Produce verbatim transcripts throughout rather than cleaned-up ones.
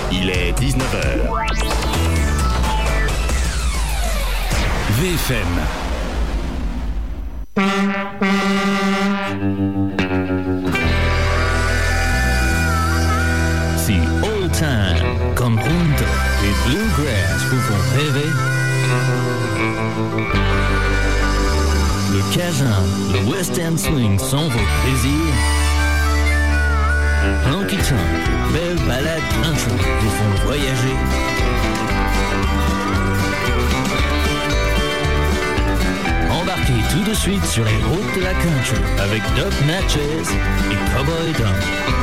Il est dix-neuf heures. V F M. Si Old Time, Conjunto et Bluegrass vous font rêver, le Cajun, le Western Swing sont vos plaisirs, Honky Tonk, belles balades country vous font voyager. Embarquez tout de suite sur les routes de la country avec Doc Natchez et Cowboy Don.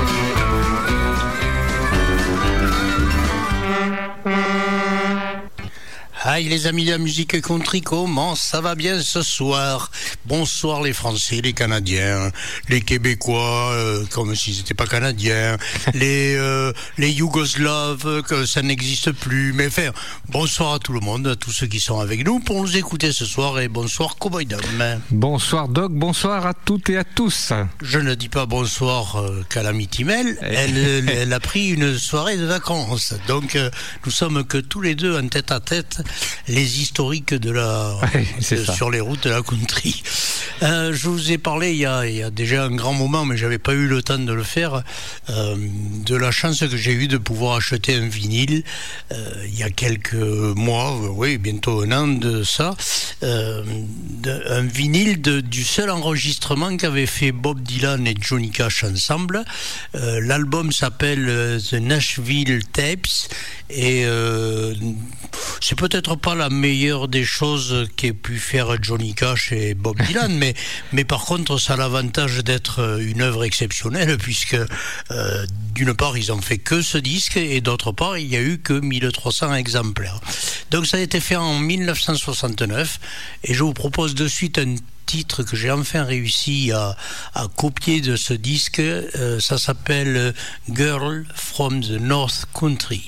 Hi les amis de la musique country, comment ça va bien ce soir? Bonsoir les Français, les Canadiens, les Québécois, euh, comme s'ils n'étaient pas Canadiens, les euh, les Yougoslaves, que ça n'existe plus. Mais enfin, bonsoir à tout le monde, à tous ceux qui sont avec nous pour nous écouter ce soir, et bonsoir Cowboy Dom. Bonsoir Doc, bonsoir à toutes et à tous. Je ne dis pas bonsoir euh, qu'à l'amie Timel, elle, elle, elle a pris une soirée de vacances, donc euh, nous sommes que tous les deux en tête à tête. Les historiques de la ouais, de, sur les routes de la country. Euh, je vous ai parlé il y, a, il y a déjà un grand moment, mais j'avais pas eu le temps de le faire, euh, de la chance que j'ai eue de pouvoir acheter un vinyle euh, il y a quelques mois, oui, bientôt un an de ça, euh, de, un vinyle de, du seul enregistrement qu'avaient fait Bob Dylan et Johnny Cash ensemble. Euh, l'album s'appelle euh, The Nashville Tapes et euh, c'est peut-être pas la meilleure des choses qu'aient pu faire Johnny Cash et Bob Dylan, mais, mais par contre ça a l'avantage d'être une œuvre exceptionnelle, puisque euh, d'une part ils ont fait que ce disque, et d'autre part il n'y a eu que mille trois cents exemplaires. Donc ça a été fait en dix-neuf cent soixante-neuf, et je vous propose de suite un titre que j'ai enfin réussi à, à copier de ce disque. Euh, ça s'appelle Girl from the North Country.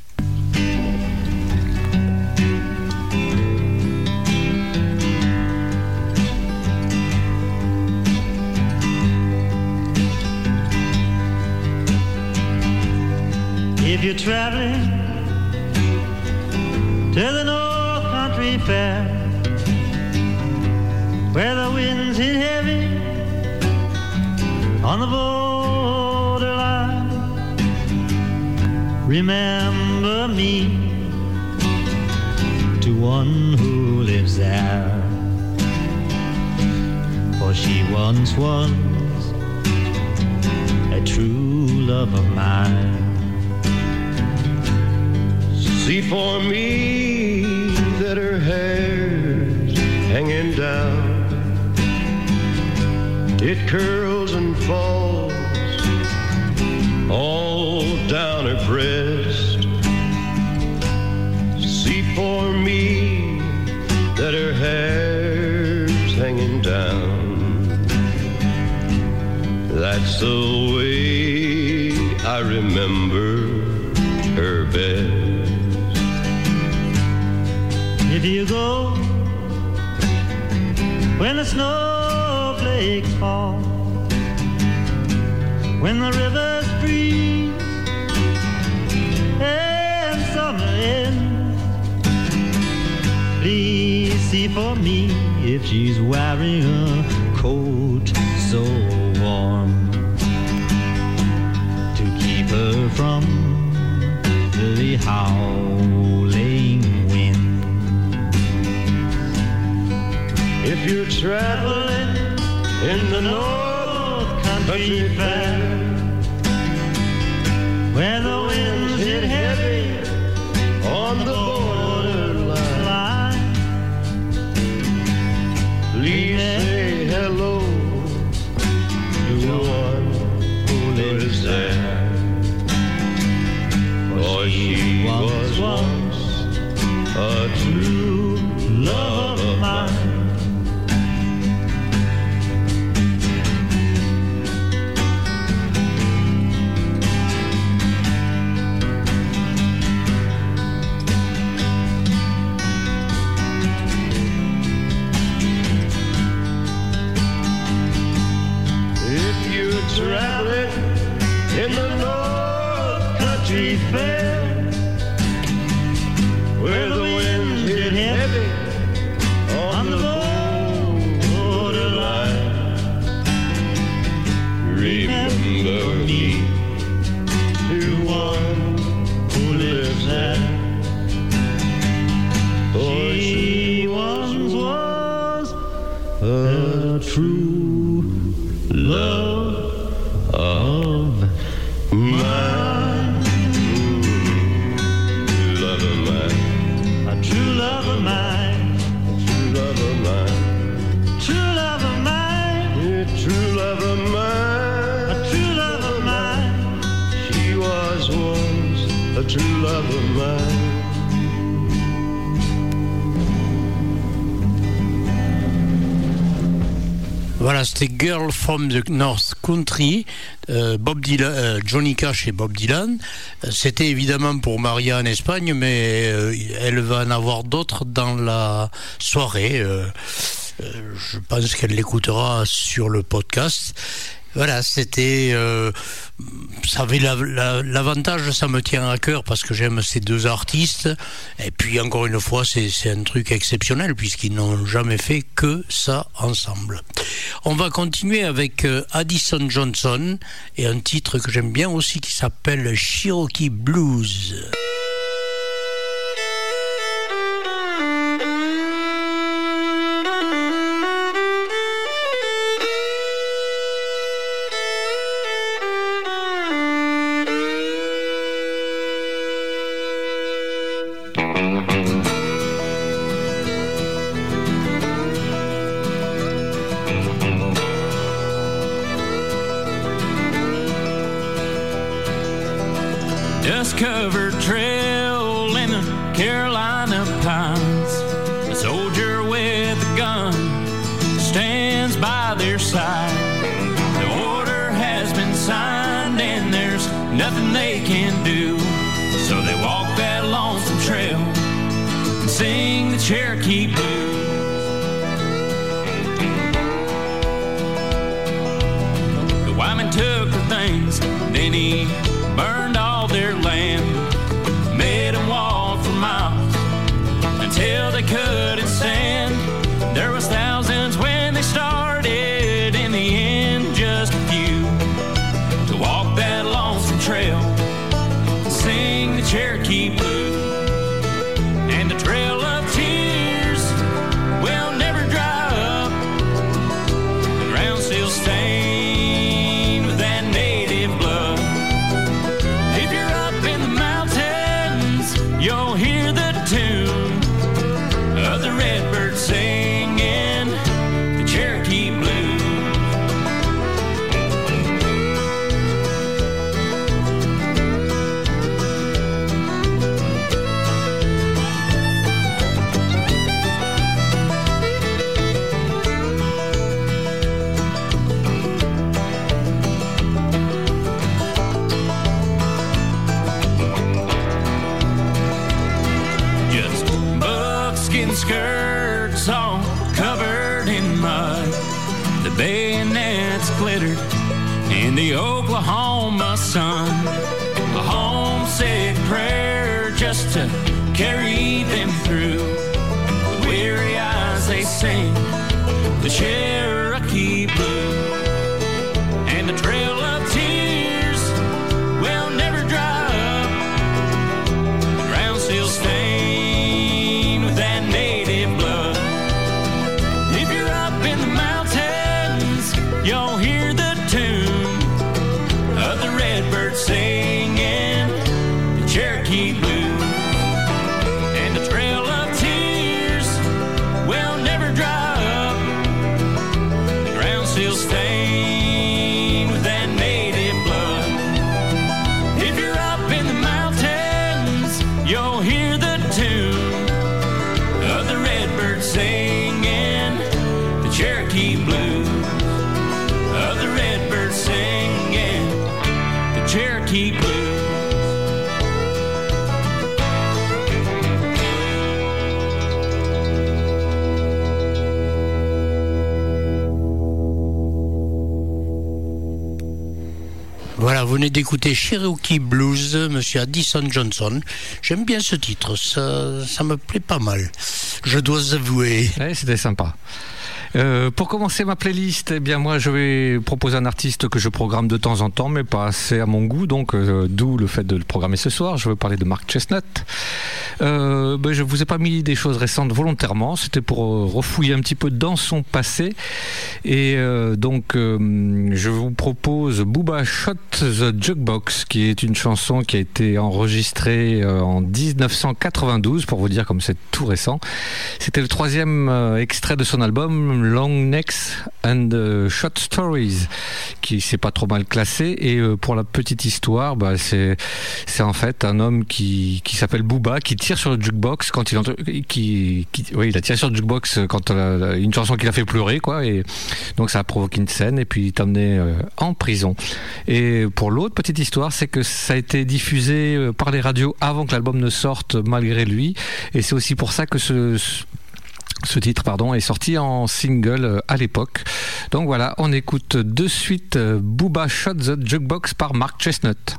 If you're traveling to the North Country Fair, where the winds hit heavy on the borderline, remember me to one who lives there, for she once was a true love of mine. See for me that her hair's hanging down, it curls and falls all down her breast. See for me that her hair's hanging down, that's the way I remember her best. If you go when the snowflakes fall, when the rivers freeze and summer ends, please see for me if she's wearing a coat so warm to keep her from the howling wind. If you're traveling in the North Country Fair, where the winds hit heavy on the borderline, please say hello to one who lives there, for she was once a true love of mine. Traveling in the North Country tree fell, where the winds hit heavy on the borderline. Remember me to one who lives there. For she once was a true love of mine. Love of mine. A true love of mine. True love of mine. True love of mine. Yeah, true love of mine. A true love of mine. She was once a true love of mine. Voilà, c'était Girl from the North Country, euh, Bob Dylan, euh, Johnny Cash et Bob Dylan. C'était évidemment pour Maria en Espagne, mais euh, elle va en avoir d'autres dans la soirée. Euh, euh, je pense qu'elle l'écoutera sur le podcast. Voilà, c'était, euh, ça avait la, la, l'avantage, ça me tient à cœur parce que j'aime ces deux artistes. Et puis encore une fois, c'est, c'est un truc exceptionnel puisqu'ils n'ont jamais fait que ça ensemble. On va continuer avec euh, Addison Johnson et un titre que j'aime bien aussi qui s'appelle Cherokee Blues. Dust-covered trail in the Carolina pines. A soldier with a gun stands by their side. The order has been signed and there's nothing they can do. So they walk that lonesome trail and sing the Cherokee Blues. The Wyman took their things, then he burned all their land, made them walk for miles until they couldn't stand. There was thousands when they started, in the end just a few to walk that lonesome trail and sing the Cherokee Blues. And the trail of tears will never dry up, the ground still stained with that native blood. You'll hear the tune of the redbird singing the Cherokee Blues. Skirts all covered in mud, the bayonets glittered in the Oklahoma sun. A homesick prayer just to carry them through. With weary eyes they sing the Cherokee Blues. And the trail of tears will never dry up, the ground still stained with that native blood. If you're up in the mountains, you'll hear the tune of the redbird singing the Cherokee Blues. And the trail of tears will never dry up, venez d'écouter Cherokee Blues, monsieur Addison Johnson. J'aime bien ce titre, ça, ça me plaît pas mal. Je dois avouer. Ouais, c'était sympa. Euh, pour commencer ma playlist, eh bien moi je vais proposer un artiste que je programme de temps en temps, mais pas assez à mon goût, donc euh, d'où le fait de le programmer ce soir. Je veux parler de Mark Chesnutt. Euh, ben, je vous ai pas mis des choses récentes volontairement, c'était pour euh, refouiller un petit peu dans son passé. Et euh, donc euh, je vous propose Bubba Shot the Jukebox, qui est une chanson qui a été enregistrée euh, en dix-neuf cent quatre-vingt-douze, pour vous dire comme c'est tout récent. C'était le troisième euh, extrait de son album Long Necks and uh, Short Stories, qui s'est pas trop mal classé. Et euh, pour la petite histoire, bah, c'est c'est en fait un homme qui qui s'appelle Bubba, qui tire sur le jukebox quand il entend, qui, qui oui, il a tiré sur le jukebox quand euh, une chanson qui l'a fait pleurer, quoi. Et donc ça a provoqué une scène et puis il est emmené euh, en prison. Et pour l'autre petite histoire, c'est que ça a été diffusé euh, par les radios avant que l'album ne sorte, malgré lui. Et c'est aussi pour ça que ce, ce Ce titre pardon, est sorti en single à l'époque. Donc voilà, on écoute de suite Bubba Shot the Jukebox par Mark Chesnutt.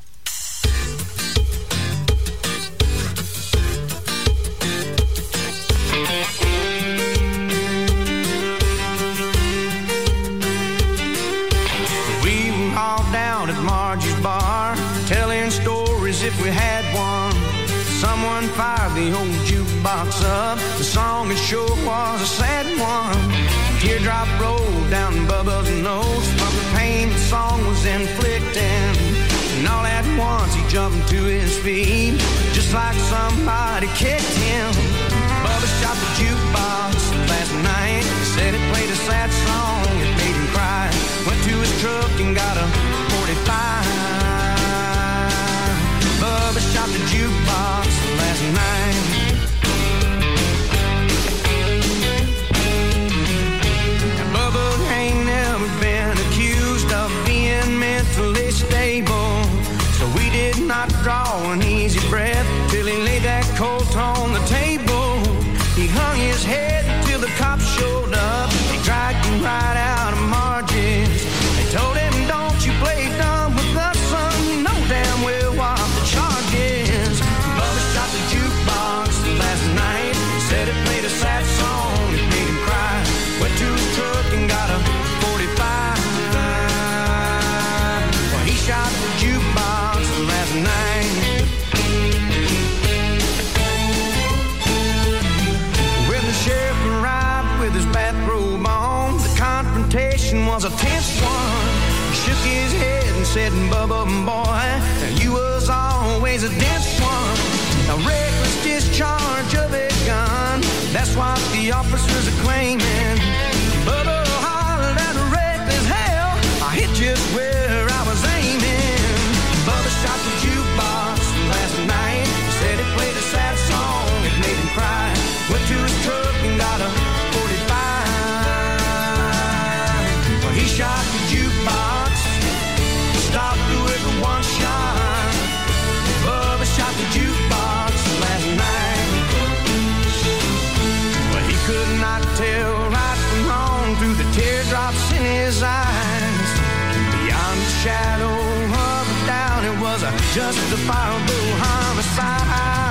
We were all down at Margie's bar, telling stories if we had one. Someone fired the old jukebox up. The song it sure was a sad one. A teardrop rolled down Bubba's nose from the pain the song was inflicting. And all at once he jumped to his feet, just like somebody kicked him. Bubba shot the jukebox last night. Said it played a sad song, it made him cry. Went to his truck and got a forty-five. Bubba shot the jukebox last night. Now Bubba ain't never been accused of being mentally stable, so we did not draw an easy breath till he laid that colt on the table. He hung his head till the cops showed up. They dragged him right out of Margie's. They told him, don't you play dumb with us, son, you know damn well what the charge is. Bubba shot the jukebox last night. Said it played a sad song, it made him cry. Went to his truck and got a forty-five. Well, he shot the jukebox last night. When the sheriff arrived with his bathrobe on, the confrontation was a tense one. He shook his head and said, Bubba, boy, you was always a dense one. A reckless discharge of a gun, that's what the officers are claiming. Bubba hollered at a reckless hell, I hit just where I was aiming. Bubba shot the jukebox last night. Said it played a sad song, it made him cry. Went to his truck and got a forty-five. Well, he shot the jukebox, stopped through it with one shot. Bubba shot the jukebox last night. Well, he could not tell right from wrong through the teardrops in his eyes. Beyond the shadow of a doubt, it was a justifiable homicide.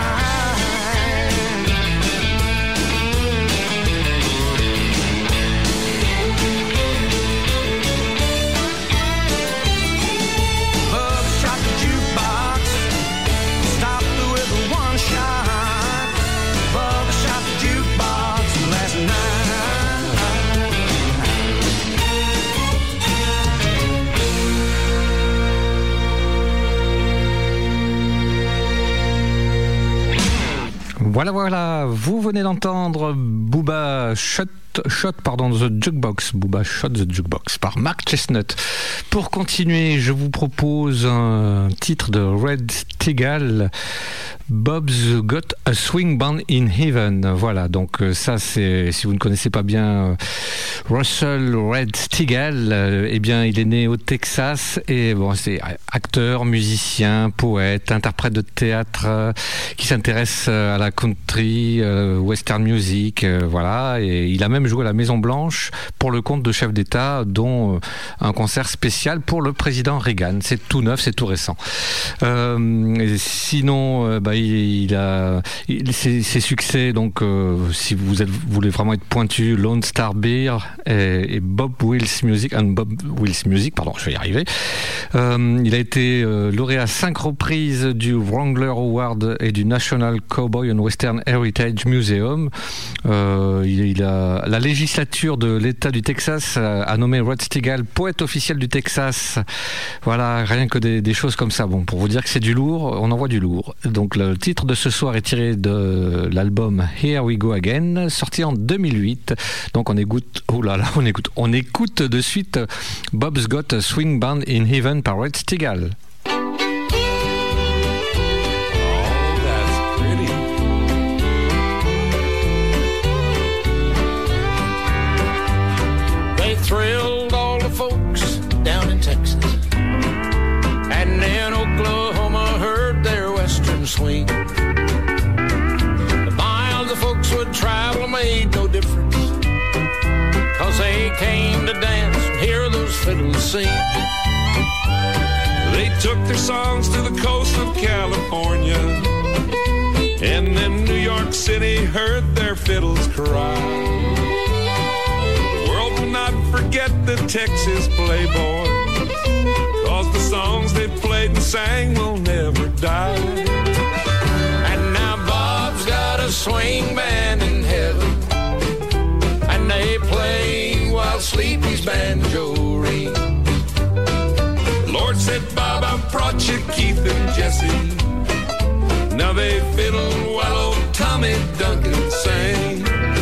Voilà, voilà, vous venez d'entendre Bubba Shot, Shot pardon, the Jukebox, Bubba Shot the Jukebox par Mark Chesnutt. Pour continuer, je vous propose un titre de Red Teagle, Bob's Got a Swing Band in Heaven. Voilà, donc ça c'est, si vous ne connaissez pas bien Russell Red Stigall, euh, eh bien il est né au Texas et bon, c'est acteur, musicien, poète, interprète de théâtre euh, qui s'intéresse à la country, euh, western music, euh, voilà, et il a même joué à la Maison Blanche pour le compte de chefs d'État, dont euh, un concert spécial pour le président Reagan. C'est tout neuf, c'est tout récent. Euh, et sinon, euh, bah, il, il a il, ses, ses succès, donc euh, si vous, êtes, vous voulez vraiment être pointu, Lone Star Beer et, et Bob Wills Music, and Bob Wills Music, pardon, je vais y arriver. Euh, il a été euh, lauréat à cinq reprises du Wrangler Award et du National Cowboy and Western Heritage Museum. Euh, il, il a, la législature de l'État du Texas a, a nommé Red Stigall poète officiel du Texas. Voilà, rien que des, des choses comme ça. Bon, pour vous dire que c'est du lourd, on envoie du lourd. Donc le titre de ce soir est tiré de l'album Here We Go Again, sorti en deux mille huit. Donc on écoute, oh là là, on écoute, on écoute de suite Bob's Got a Swing Band in Heaven par Red Stigall. Thrilled all the folks down in Texas, and in Oklahoma heard their western swing. The miles the folks would travel made no difference, 'cause they came to dance and hear those fiddles sing. They took their songs to the coast of California, and then New York City heard their fiddles cry. Not forget the Texas playboys, 'cause the songs they played and sang will never die. And now Bob's got a swing band in heaven, and they play while Sleepy's banjo ring. Lord said, Bob, I brought you Keith and Jesse. Now they fiddle while old Tommy Duncan sang.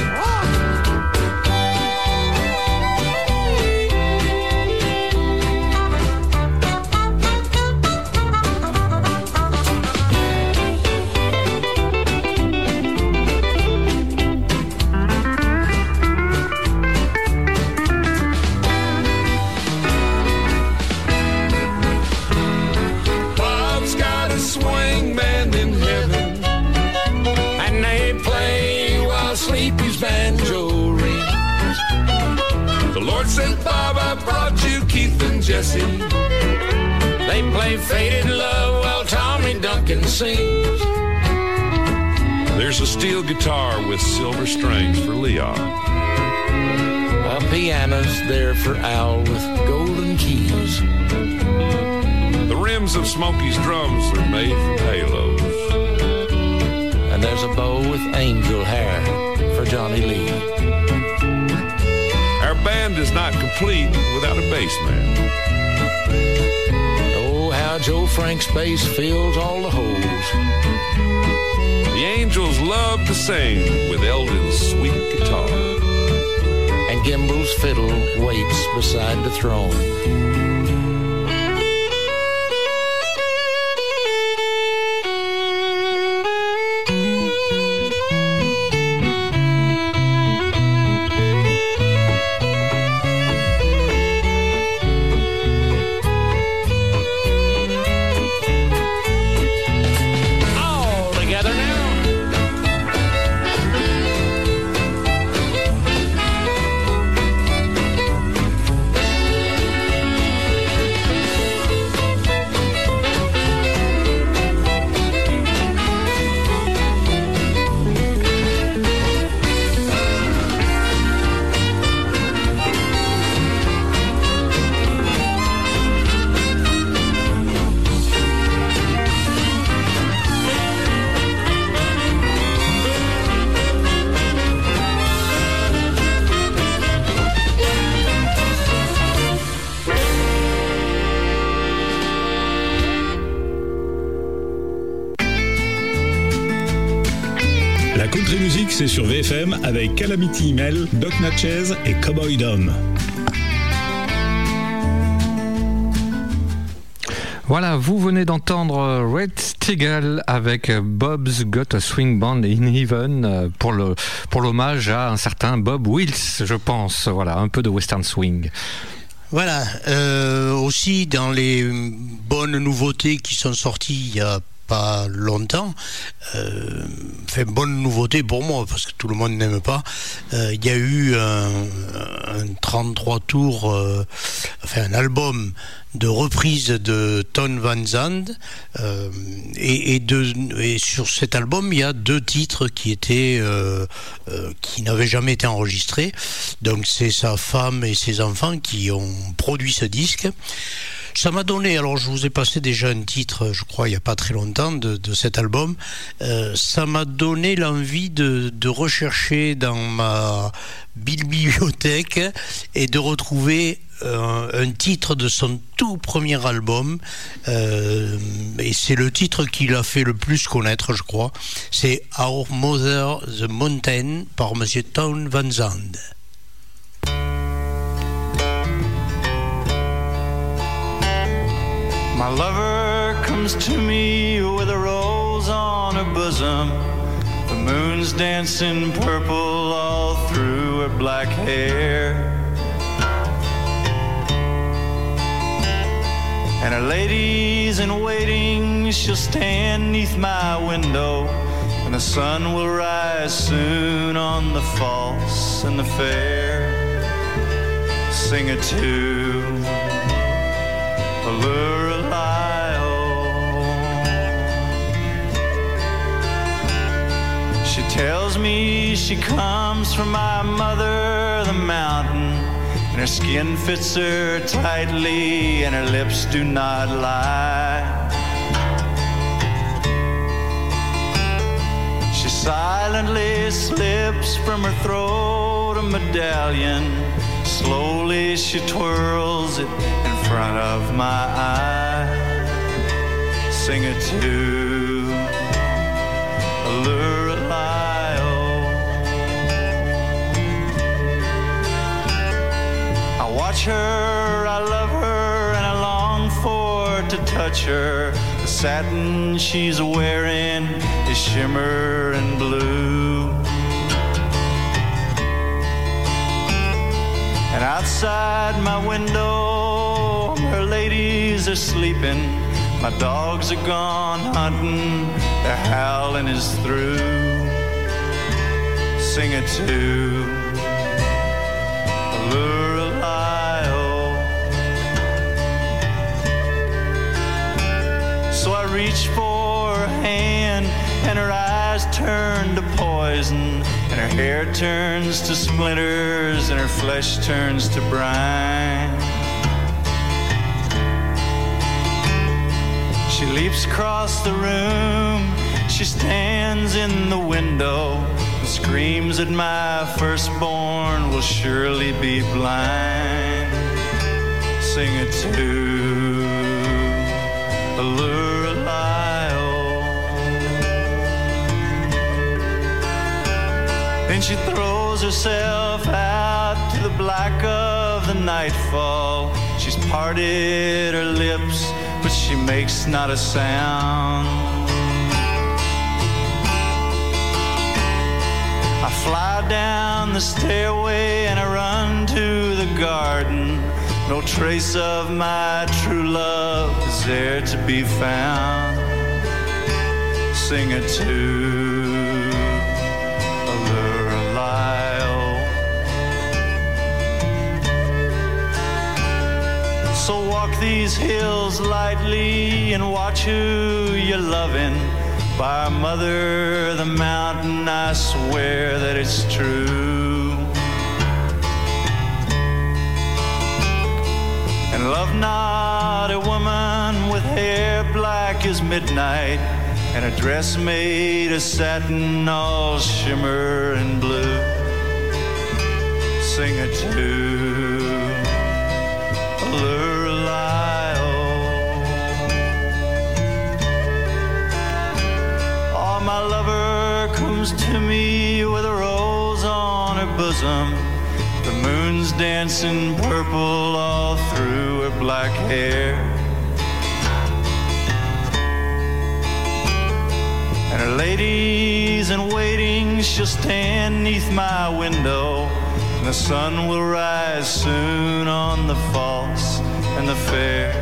Said Bob, I brought you Keith and Jesse. They play Faded Love while Tommy Duncan sings. There's a steel guitar with silver strings for Leon. A piano's there for Al with golden keys. The rims of Smokey's drums are made from halos. And there's a bow with angel hair for Johnny Lee. Our band is not complete without a bass man. Oh, how Joe Frank's bass fills all the holes. The Angels love to sing with Eldon's sweet guitar. And Gimbel's fiddle waits beside the throne. Country Music, c'est sur V F M avec Calamity Email, Doc Natchez et Cowboy Dom. Voilà, vous venez d'entendre Red Steagall avec Bob's Got a Swing Band in Heaven pour le pour l'hommage à un certain Bob Wills, je pense. Voilà, un peu de western swing. Voilà, euh, aussi dans les bonnes nouveautés qui sont sorties il y a pas longtemps, euh, enfin bonne nouveauté pour moi parce que tout le monde n'aime pas, euh, il y a eu un, un trente-trois tours, euh, enfin un album de reprise de Town Van Zandt, euh, et, et, de, et sur cet album il y a deux titres qui étaient euh, euh, qui n'avaient jamais été enregistrés, donc c'est sa femme et ses enfants qui ont produit ce disque. Ça m'a donné, alors je vous ai passé déjà un titre, je crois, il n'y a pas très longtemps, de, de cet album. Euh, ça m'a donné l'envie de, de rechercher dans ma bibliothèque et de retrouver euh, un titre de son tout premier album. Euh, et c'est le titre qui l'a fait le plus connaître, je crois. C'est Our Mother the Mountain par Monsieur Town Van Zandt. My lover comes to me with a rose on her bosom. The moon's dancing purple all through her black hair. And her ladies in waiting, she'll stand neath my window, and the sun will rise soon on the false and the fair. Sing a tune, allure She tells me she comes from my mother, the mountain, and her skin fits her tightly, and her lips do not lie. She silently slips from her throat a medallion. Slowly she twirls it in front of my eye. Sing it to allure. I watch her, I love her, and I long for to touch her. The satin she's wearing is shimmer and blue. And outside my window, her ladies are sleeping. My dogs are gone hunting, their howling is through. Sing it to Lorelei. So I reach for her hand, and her eyes turn to poison, and her hair turns to splinters, and her flesh turns to brine. She leaps across the room, she stands in the window, and screams that my firstborn will surely be blind. Sing it to Lorelei. Then she throws herself out to the black of the nightfall. She's parted her lips, but she makes not a sound. I fly down the stairway and I run to the garden. No trace of my true love is there to be found. Sing it to Lorelei. So walk these hills lightly and watch who you're loving. By our mother, the mountain, I swear that it's true. And love not a woman with hair black as midnight, and a dress made of satin all shimmer and blue. Sing it to Lorelei. Oh, my lover comes to me with a rose on her bosom. The moon's dancing purple all through her black hair. ladies in waiting shall stand neath my window, and the sun will rise soon on the false and the fair.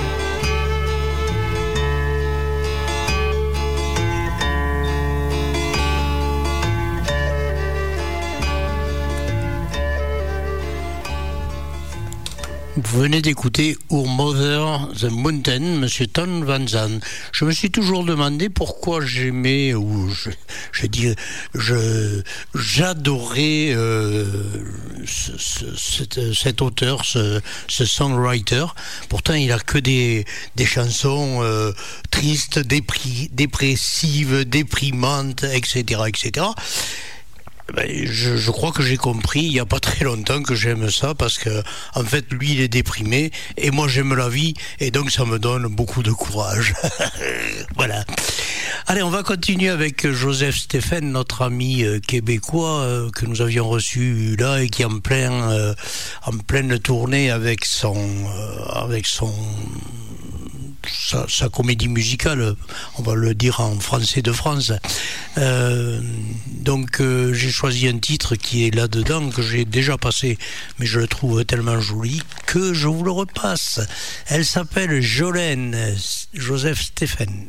Vous venez d'écouter Our Mother the Mountain, Monsieur Ton Van Zandt. Je me suis toujours demandé pourquoi j'aimais, ou je, je dis, je, j'adorais euh, ce, ce, cet, cet auteur, ce, ce songwriter. Pourtant, il a que des, des chansons euh, tristes, dépri, dépressives, déprimantes, et cetera, et cetera. Ben, je, je crois que j'ai compris il n'y a pas très longtemps que j'aime ça, parce que en fait lui il est déprimé et moi j'aime la vie, et donc ça me donne beaucoup de courage. Voilà. Allez, on va continuer avec Joseph Stéphane, notre ami euh, québécois euh, que nous avions reçu là et qui est en plein euh, en pleine tournée avec son euh, avec son Sa, sa comédie musicale, on va le dire en français de France. Euh, donc euh, j'ai choisi un titre qui est là-dedans, que j'ai déjà passé, mais je le trouve tellement joli que je vous le repasse. Elle s'appelle Jolene, Joseph Stéphane.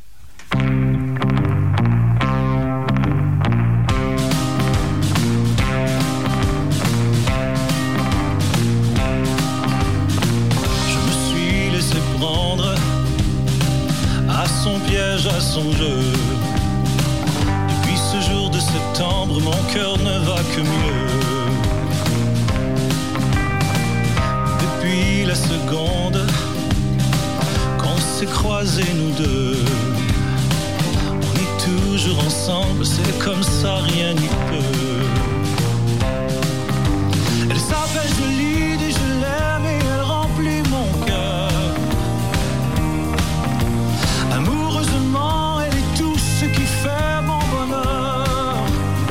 Son piège à son jeu. Depuis ce jour de septembre, mon cœur ne va que mieux. Depuis la seconde qu'on s'est croisés nous deux, on est toujours ensemble, c'est comme ça, rien n'y peut. Elle s'appelle Joline et je l'aime et elle remplit mon cœur. Amoureusement, elle est tout ce qui fait mon bonheur.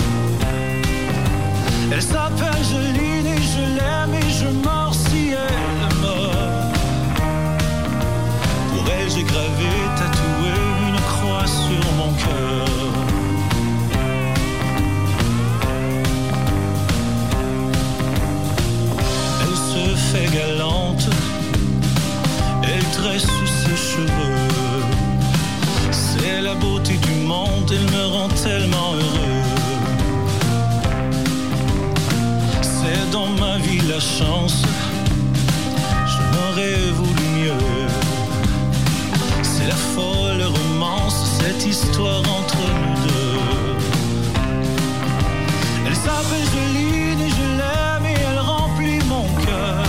Elle s'appelle Joline et je l'aime et je meurs si elle meurt. Pour elle, j'ai gravé, tatoué une croix sur mon cœur. Elle se fait galante, elle tresse sous ses cheveux. C'est la beauté du monde, elle me rend tellement heureux. C'est dans ma vie la chance, je n'aurais voulu mieux. C'est la folle romance, cette histoire entre nous deux. Elle s'appelle Joline et je l'aime et elle remplit mon cœur.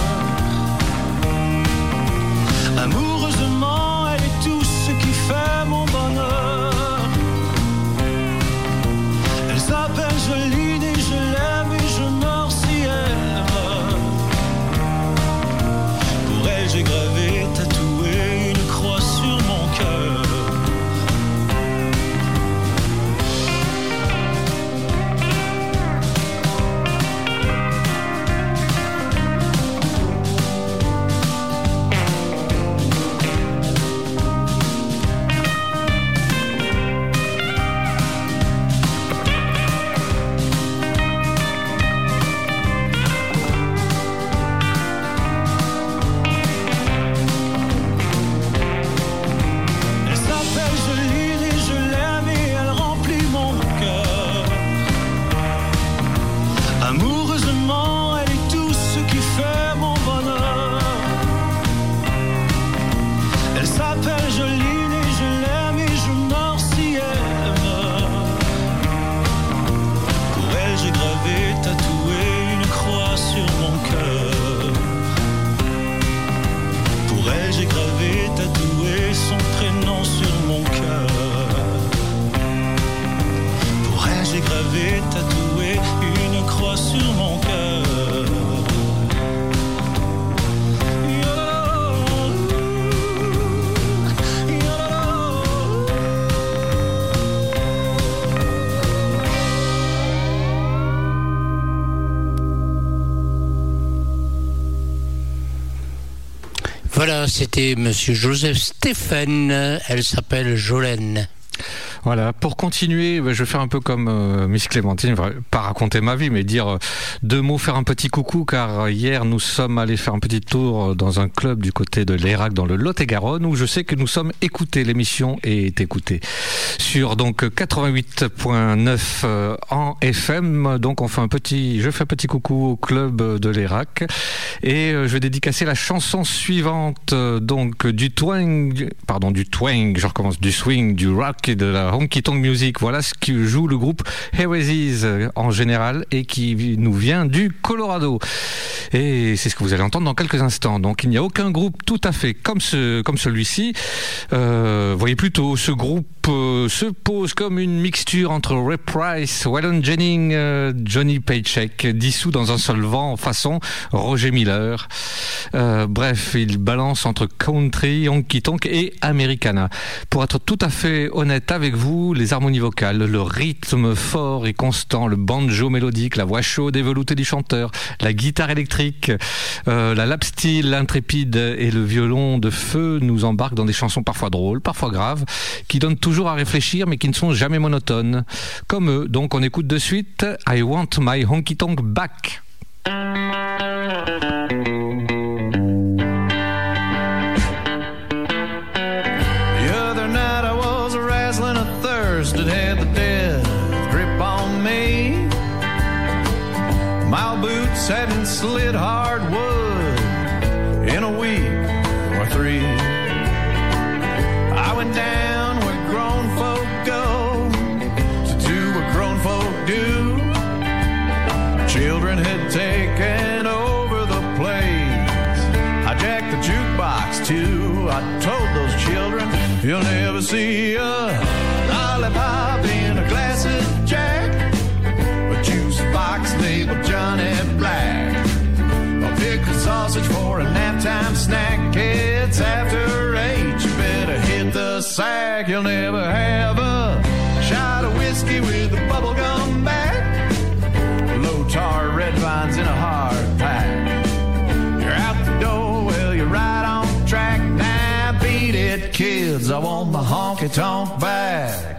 Amoureusement, elle est tout ce qui fait mon bonheur. Elle s'appelle Joline et je l'aime et je meurs si elle meurt. Pour elle, j'ai gravé, tatoué une croix sur mon cœur. Voilà, c'était Monsieur Joseph Stéphane. Elle s'appelle Jolene. Voilà, pour continuer, je vais faire un peu comme euh, Miss Clémentine, pas raconter ma vie, mais dire euh, deux mots, faire un petit coucou, car hier nous sommes allés faire un petit tour dans un club du côté de l'Hérac dans le Lot-et-Garonne, où je sais que nous sommes écoutés, l'émission est écoutée sur donc quatre-vingt-huit virgule neuf euh, en F M. Donc on fait un petit, je fais un petit coucou au club de l'Hérac et euh, je vais dédicacer la chanson suivante, euh, donc du twang, pardon du twang, je recommence, du swing, du rock et de la honky tonk music. Voilà ce que joue le groupe Heresies en général et qui nous vient du Colorado. Et c'est ce que vous allez entendre dans quelques instants. Donc il n'y a aucun groupe tout à fait comme ce, comme celui-ci. Euh, voyez plutôt, ce groupe euh, se pose comme une mixture entre Ray Price, Waylon Jennings, euh, Johnny Paycheck, dissous dans un seul vent façon Roger Miller. Euh, bref, il balance entre country, honky tonk et americana. Pour être tout à fait honnête avec vous, les harmonies vocales, le rythme fort et constant, le banjo mélodique, la voix chaude et veloutée du chanteur, la guitare électrique, euh, la lap steel intrépide et le violon de feu nous embarquent dans des chansons parfois drôles, parfois graves, qui donnent toujours à réfléchir mais qui ne sont jamais monotones. Comme eux, donc on écoute de suite I Want My Honky Tonk Back. That had the death grip on me. My boots hadn't slid hardwood in a week or three. I went down where grown folk go to do what grown folk do. Children had taken over the place. I jacked the jukebox too. I told those children, you'll never see a lollipop in a glass of Jack, a juice box labeled Johnny Black, a pickle sausage for a naptime snack. It's after eight, you better hit the sack. You'll never have a shot of whiskey with a bubblegum back, low tar red vines in a hard pack. You're out the door, well you're right on track. Now beat it kids, I want my honky tonk back.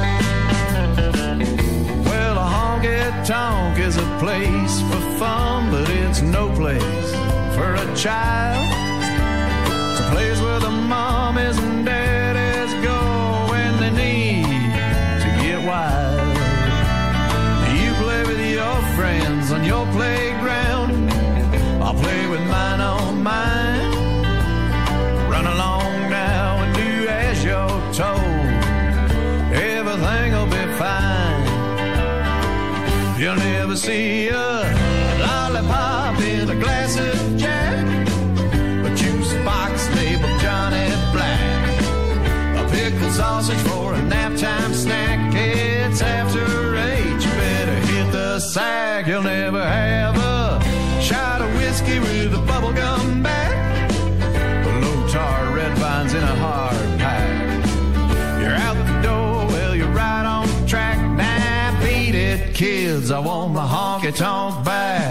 Well, a honky tonk is a place for fun, but it's no place for a child. It's a place where the mommies and daddies go when they need to get wild. You play with your friends on your playground, I'll play with mine on mine. Run along now and do as you're told, everything'll be fine. You'll never see a lollipop in a glass of Jack, a juice box labeled Johnny Black, a pickle sausage for a naptime snack. It's after eight, you better hit the sack. You'll never have a shot of whiskey with a bubblegum back, low tar red vines in a hard pack. You're out the door, well you're right on track. Now beat it kids, I want my honky tonk back.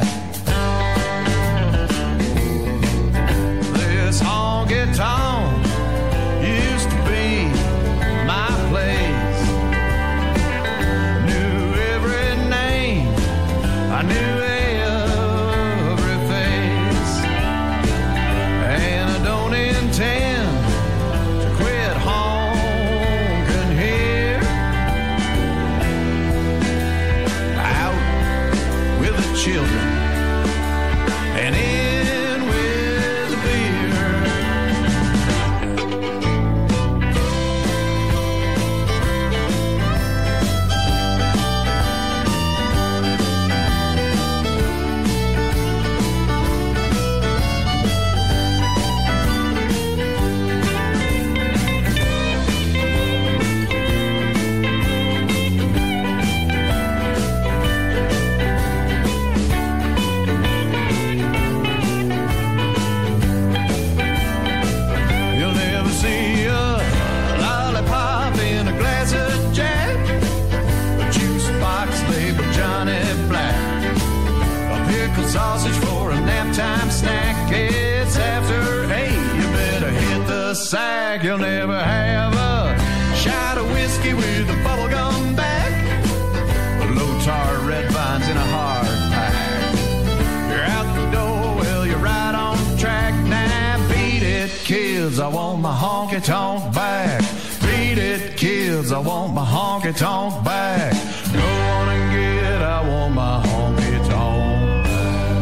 This honky tonk used to be my place. Knew every name, I knew every face, and I don't intend to quit honking here. Out with the children I want my honky-tonk back. Beat it, kids, I want my honky-tonk back. Go on and get it, I want my honky-tonk back.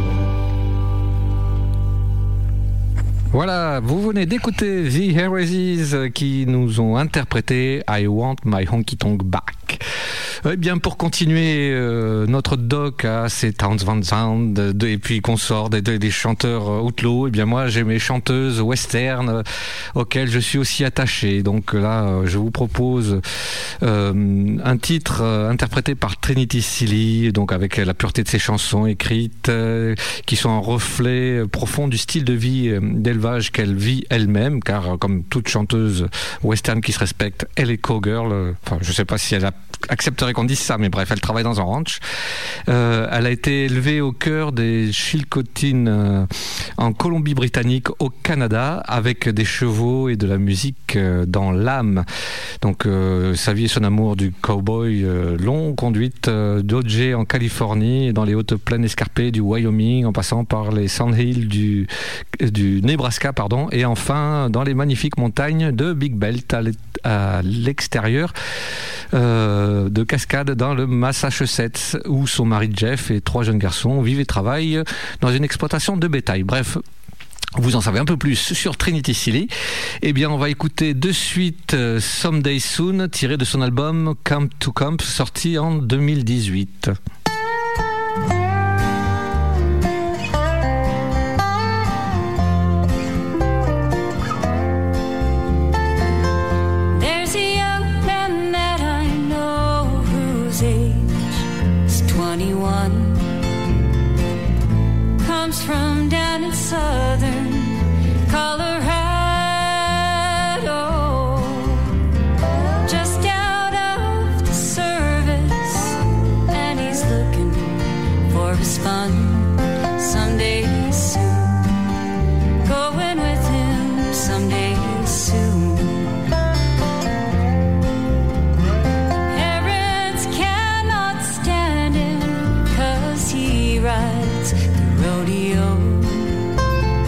Voilà, vous venez d'écouter The Heresies qui nous ont interprété I Want My Honky Tonk Back. Eh bien, pour continuer euh, notre doc à ces Townes Van Zandt de, et puis qu'on sort des, des chanteurs euh, outlaws, eh bien moi j'ai mes chanteuses western euh, auxquelles je suis aussi attaché. Donc là, euh, je vous propose euh, un titre euh, interprété par Trinity Seeley, donc avec la pureté de ses chansons écrites, euh, qui sont un reflet profond du style de vie euh, d'élevage qu'elle vit elle-même, car euh, comme toute chanteuse western qui se respecte, elle est cowgirl. Euh, enfin, je sais pas si elle a accepterait qu'on dise ça, mais bref, elle travaille dans un ranch. Euh, elle a été élevée au cœur des Chilcotines euh, en Colombie-Britannique, au Canada, avec des chevaux et de la musique euh, dans l'âme. Donc, euh, sa vie et son amour du cowboy euh, l'ont conduite euh, d'O J en Californie, dans les hautes plaines escarpées du Wyoming, en passant par les Sandhills du, du Nebraska, pardon, et enfin dans les magnifiques montagnes de Big Belt à l'extérieur Euh, de Cascade dans le Massachusetts, où son mari Jeff et trois jeunes garçons vivent et travaillent dans une exploitation de bétail. Bref, vous en savez un peu plus sur Trinity Seeley. Eh bien, on va écouter de suite euh, Someday Soon, tiré de son album Camp to Camp, sorti en deux mille dix-huit. Comes from down in southern Colorado, just out of the service, and he's looking for his fun someday soon, going with him someday soon. Parents cannot stand him 'cause he rides rodeo.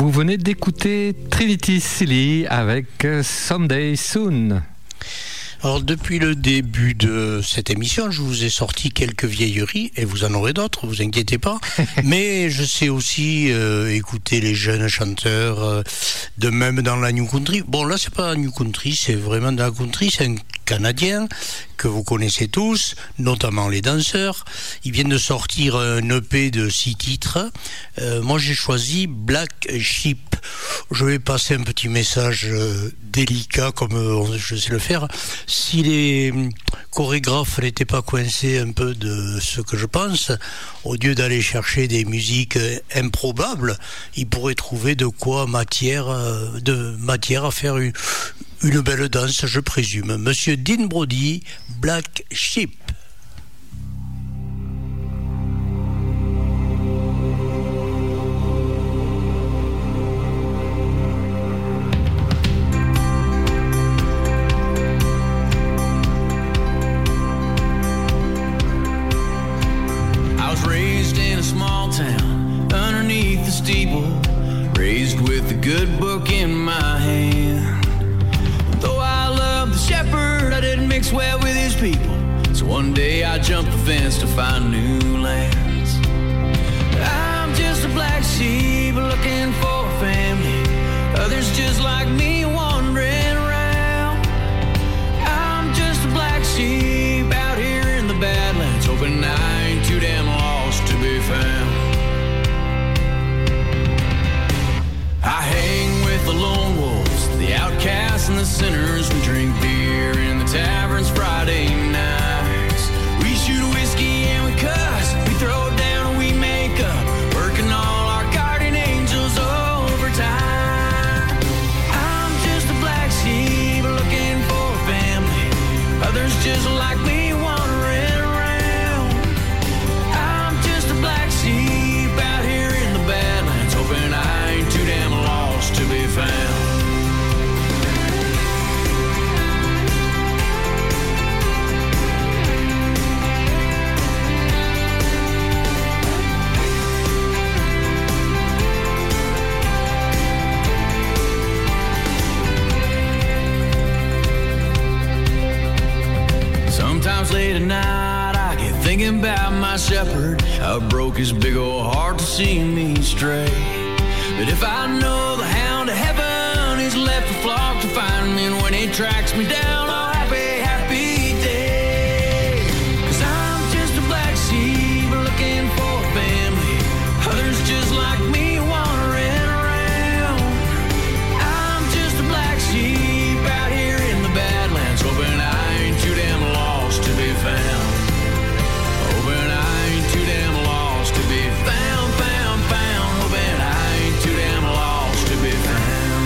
vous venez d'écouter Trinity Silly avec Someday Soon. Alors depuis le début de cette émission, je vous ai sorti quelques vieilleries, et vous en aurez d'autres, vous inquiétez pas. Mais je sais aussi euh, écouter les jeunes chanteurs, euh, de même dans la New Country. Bon là c'est pas la New Country, c'est vraiment de la country, c'est un Canadien que vous connaissez tous, notamment les danseurs. Ils viennent de sortir un E P de six titres. Euh, moi j'ai choisi Black Sheep. Je vais passer un petit message euh, délicat comme euh, je sais le faire. Si les chorégraphes n'étaient pas coincés un peu de ce que je pense, au lieu d'aller chercher des musiques euh, improbables, ils pourraient trouver de quoi matière, euh, de matière à faire une, une belle danse, je présume. Monsieur Dean Brody, Black Sheep. Raised with a good book in my hand. Though I love the shepherd, I didn't mix well with his people. So one day I jumped the fence to find new lands. I'm just a black sheep looking for a family. Others just like me wandering around. I'm just a black sheep out here in the Badlands, hoping I ain't too damn lost to be found. I hang with the lone wolves, the outcasts and the sinners. We drink beer in the taverns Friday nights. We shoot whiskey and we cuss, we throw down and we make up, working all our guardian angels overtime. I'm just a black sheep looking for a family. Others just like me wandering around. I'm just a black sheep out here in the Badlands, hoping I ain't too damn lost to be found. Sometimes late at night I get thinking about my shepherd, how it broke his big old heart to see me stray. But if I know the hound of heaven is left a flock to find me, and when he tracks me down, I'll happy, happy day. Cause I'm just a black sheep looking for a family. Others just like me wandering around. I'm just a black sheep out here in the Badlands, hoping I ain't too damn lost to be found. Hoping I ain't too damn lost to be found, found, found. Hoping I ain't too damn lost to be found.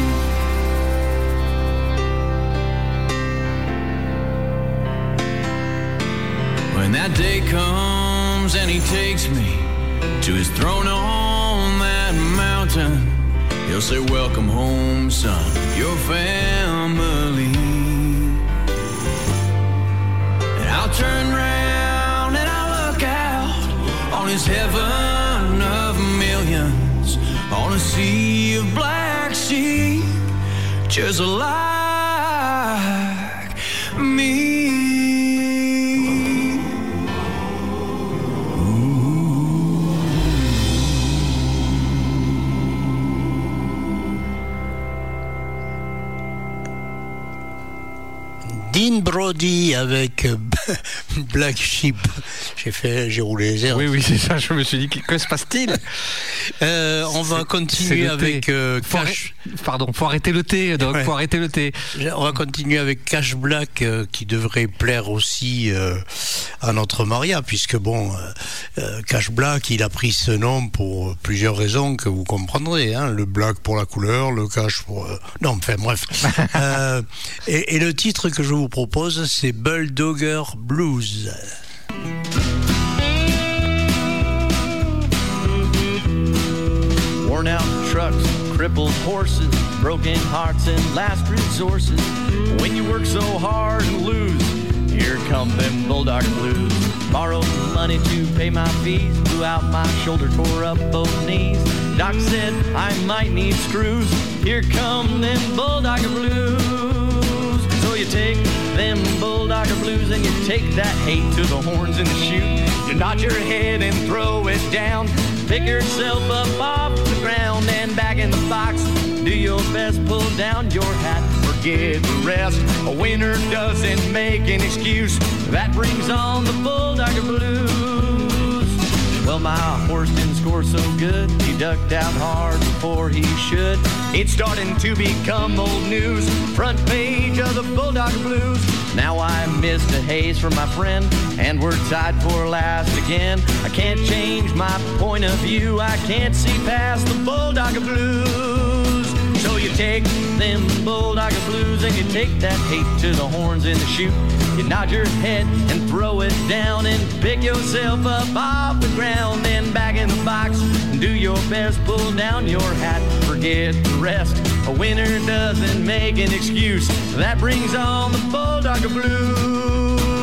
When that day comes and he takes me to his throne on that mountain, he'll say, welcome home, son, your family. And I'll turn round and I'll look out on his heaven of millions, on a sea of black sheep, just like me. Dean Brody avec Black Sheep. J'ai fait, j'ai roulé les airs. Oui, oui, c'est ça. Je me suis dit, que se passe-t-il? euh, On va continuer avec euh, faut Cash. Arrêter, pardon, faut arrêter le thé, donc ouais. faut arrêter le thé. On va continuer avec Cash Black, euh, qui devrait plaire aussi euh, à notre Maria, puisque bon, euh, Cash Black, il a pris ce nom pour plusieurs raisons que vous comprendrez. Hein, le black pour la couleur, le cash pour. Euh, non, enfin bref. euh, et, et le titre que je vous propose, c'est Bulldogger Blues. Worn out trucks, crippled horses, broken hearts and last resources. When you work so hard and lose, here come them bulldog blues. Borrowed money to pay my fees, blew out my shoulder, tore up both knees. Doc said I might need screws. Here come them Bulldogger Blues. So you take them Bulldogger Blues and you take that hate to the horns in the chute. You nod your head and throw it down. Pick yourself up off the ground and back in the box. Do your best, pull down your hat, forget the rest. A winner doesn't make an excuse. That brings on the Bulldogger Blues. Well, my horse didn't score so good. He ducked out hard before he should. It's starting to become old news. Front page of the Bulldogger Blues. Now I missed a haze from my friend, and we're tied for last again. I can't change my point of view. I can't see past the Bulldogger Blues. So you take them Bulldogger Blues and you take that hate to the horns in the chute. You nod your head and throw it down and pick yourself up off the ground. Then back in the box, do your best, pull down your hat, forget the rest. A winner doesn't make an excuse. That brings on the Bulldogger Blues.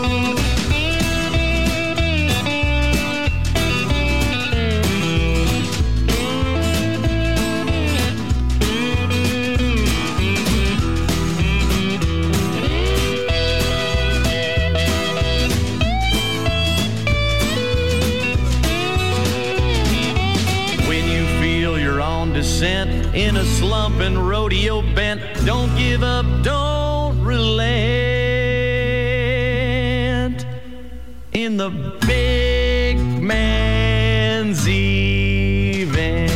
In a slump and rodeo bent, don't give up, don't relent. In the big man's event.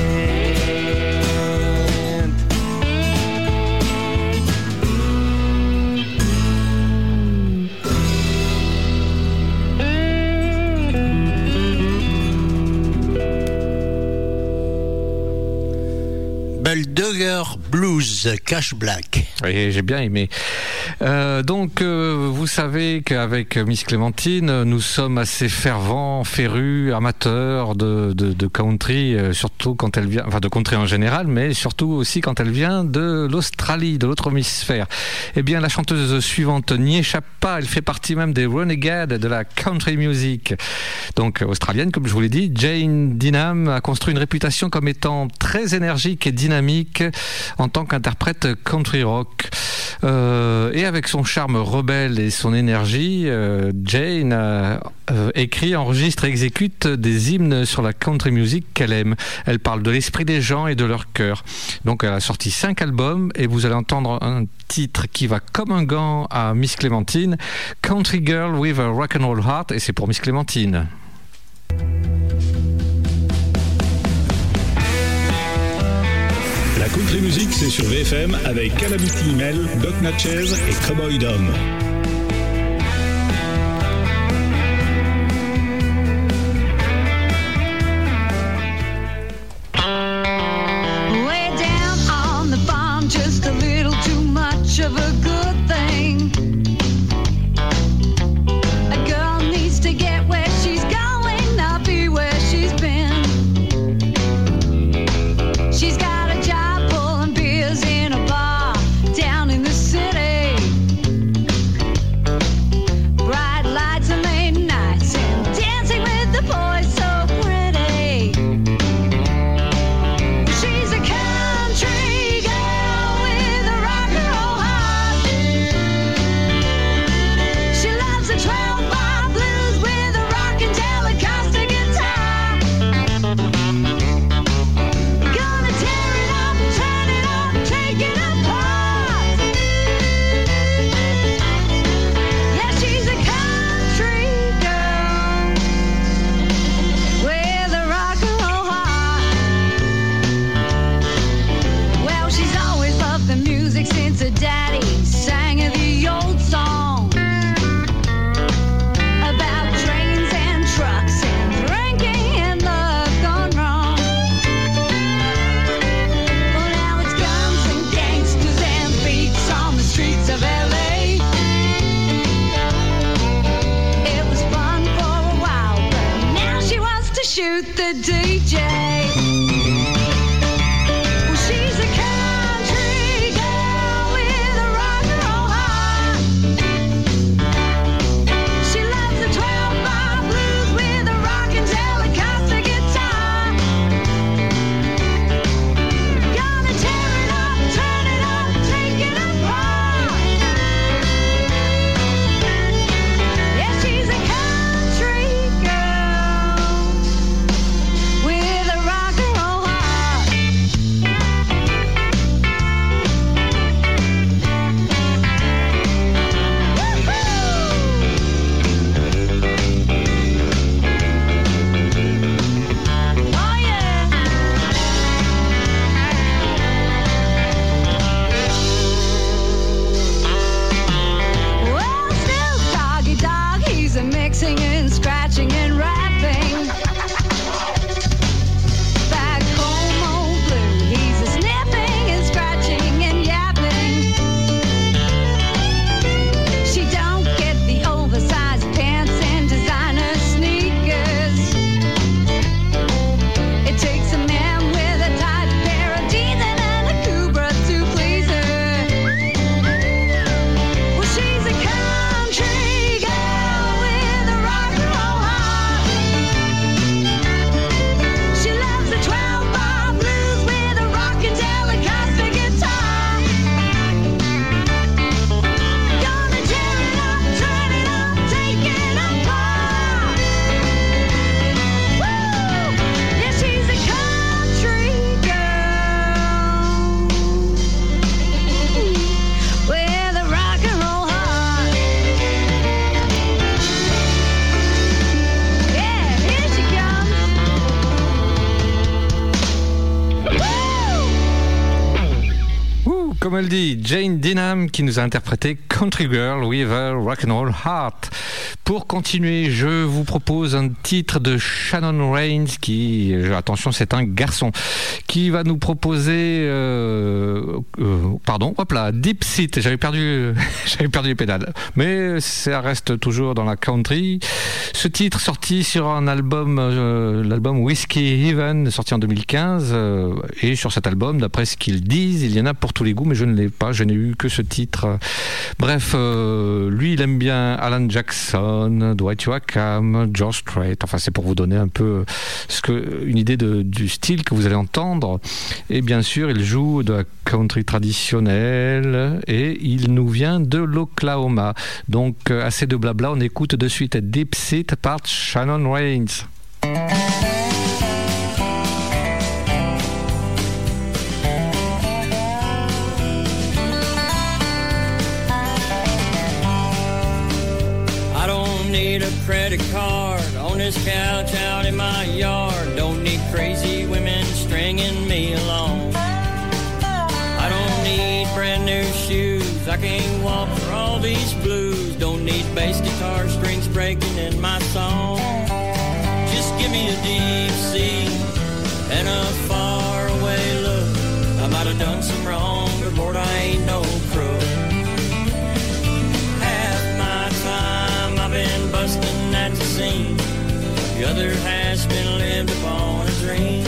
Bulldogger Blues, Cash Black. Oui, j'ai bien aimé. Euh, donc, euh, vous savez qu'avec Miss Clémentine, nous sommes assez fervents, férus, amateurs de, de, de country, euh, surtout quand elle vient, enfin de country en général, mais surtout aussi quand elle vient de l'Australie, de l'autre hémisphère. Eh bien, la chanteuse suivante n'y échappe pas. Elle fait partie même des renegades de la country music. Donc, australienne, comme je vous l'ai dit, Jane Dinham a construit une réputation comme étant très énergique et dynamique en tant qu'interprète country rock. Euh, et avec son charme rebelle et son énergie, euh, Jane a euh, écrit, enregistre et exécute des hymnes sur la country music qu'elle aime. Elle parle de l'esprit des gens et de leur cœur. Donc elle a sorti cinq albums et vous allez entendre un titre qui va comme un gant à Miss Clémentine, Country Girl with a Rock and Roll Heart, et c'est pour Miss Clémentine. La country music, c'est sur V F M avec Calamity Mel, Doc Natchez et Cowboy Dom. Way down on the farm, just a little too much of a good thing. A girl needs to get where she's going, not be where she's been. She's got the D J. Well, she's a country girl with a rock and roll heart. She loves the twelve bar blues with a rockin' Telecaster guitar. Comme elle dit, Jane Dinham qui nous a interprété Country Girl with a Rock'n'Roll Heart. Pour continuer, je vous propose un titre de Shannon Rains qui, attention, c'est un garçon, qui va nous proposer, euh, euh, pardon, hop là, Deep Seat. J'avais perdu, j'avais perdu les pédales, mais ça reste toujours dans la country. Ce titre sorti sur un album, euh, l'album Whiskey Heaven, sorti en deux mille quinze, euh, et sur cet album, d'après ce qu'ils disent, il y en a pour tous les goûts, mais je ne l'ai pas, je n'ai eu que ce titre. Bref, euh, lui, il aime bien Alan Jackson, Dwight Yoakam, George Strait. Enfin, c'est pour vous donner un peu ce que, une idée de, du style que vous allez entendre. Et bien sûr, il joue de la country traditionnelle et il nous vient de l'Oklahoma. Donc, assez de blabla, on écoute de suite Deep Seat par Shannon Rains. Need a credit card on this couch out in my yard. Don't need crazy women stringing me along. I don't need brand new shoes. I can't walk for all these blues. Don't need bass guitar strings breaking in my song. Just give me a deep C and a far away look. I might have done some wrong, but Lord, I ain't no crook. Been busting at the scene. The other has been lived upon a dream.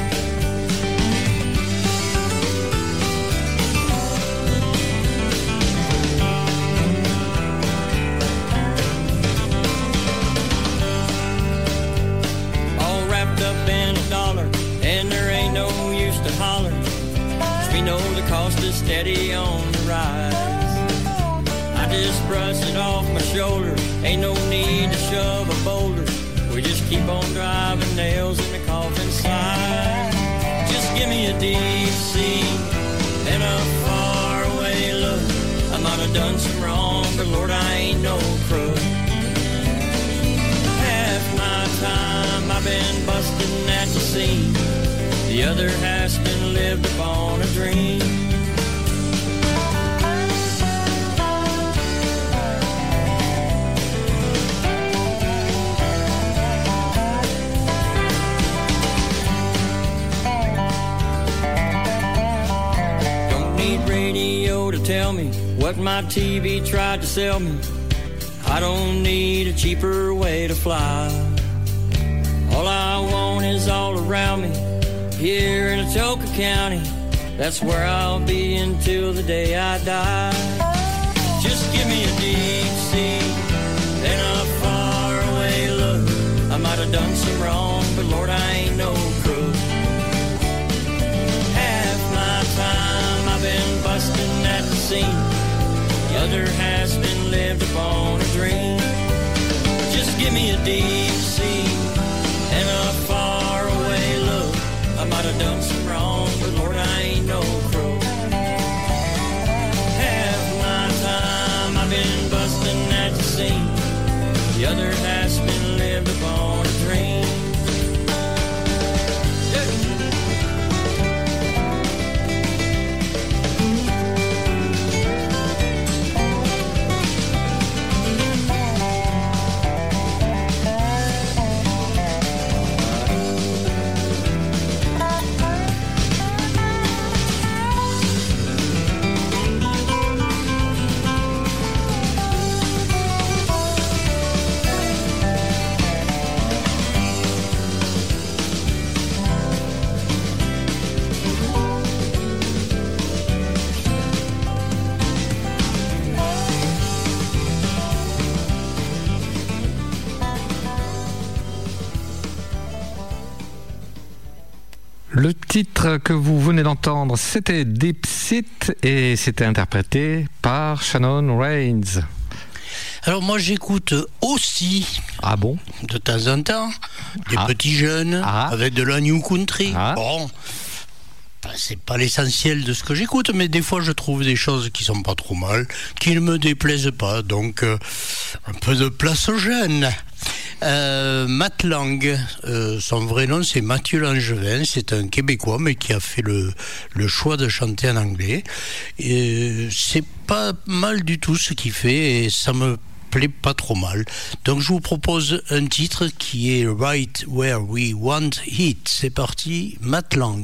All wrapped up in a dollar, and there ain't no use to holler, 'cause we know the cost is steady on the rise. I just brush it off my shoulder. Ain't no need to shove a boulder. We just keep on driving nails in the coffin side. Just give me a deep C and a far away look. I might have done some wrong, but Lord, I ain't no crook. Half my time I've been busting at the scene. The other has been lived upon a dream. Radio to tell me what my T V tried to sell me. I don't need a cheaper way to fly. All I want is all around me here in Atoka County. That's where I'll be until the day I die. Just give me a deep C and a far away look. I might have done some wrong, but Lord, I ain't no crook. Half my time I've been busting at the scene. The other has been lived upon a dream. Just give me a deep C and a far away look. I might have done some wrong, but Lord, I ain't no crook. Half my time I've been busting at the scene. The other has been lived upon a dream. Le titre que vous venez d'entendre, c'était Deep Seat et c'était interprété par Shannon Rains. Alors moi j'écoute aussi, ah bon, de temps en temps, des ah. petits jeunes ah. avec de la new country. Ah. Bon, c'est pas l'essentiel de ce que j'écoute, mais des fois je trouve des choses qui sont pas trop mal, qui ne me déplaisent pas, donc euh, un peu de place aux jeunes. Euh, Matt Lang, euh, son vrai nom c'est Mathieu Langevin, c'est un Québécois mais qui a fait le, le choix de chanter en anglais. Et c'est pas mal du tout ce qu'il fait et ça me plaît pas trop mal. Donc je vous propose un titre qui est Right Where We Want It. C'est parti, Matt Lang.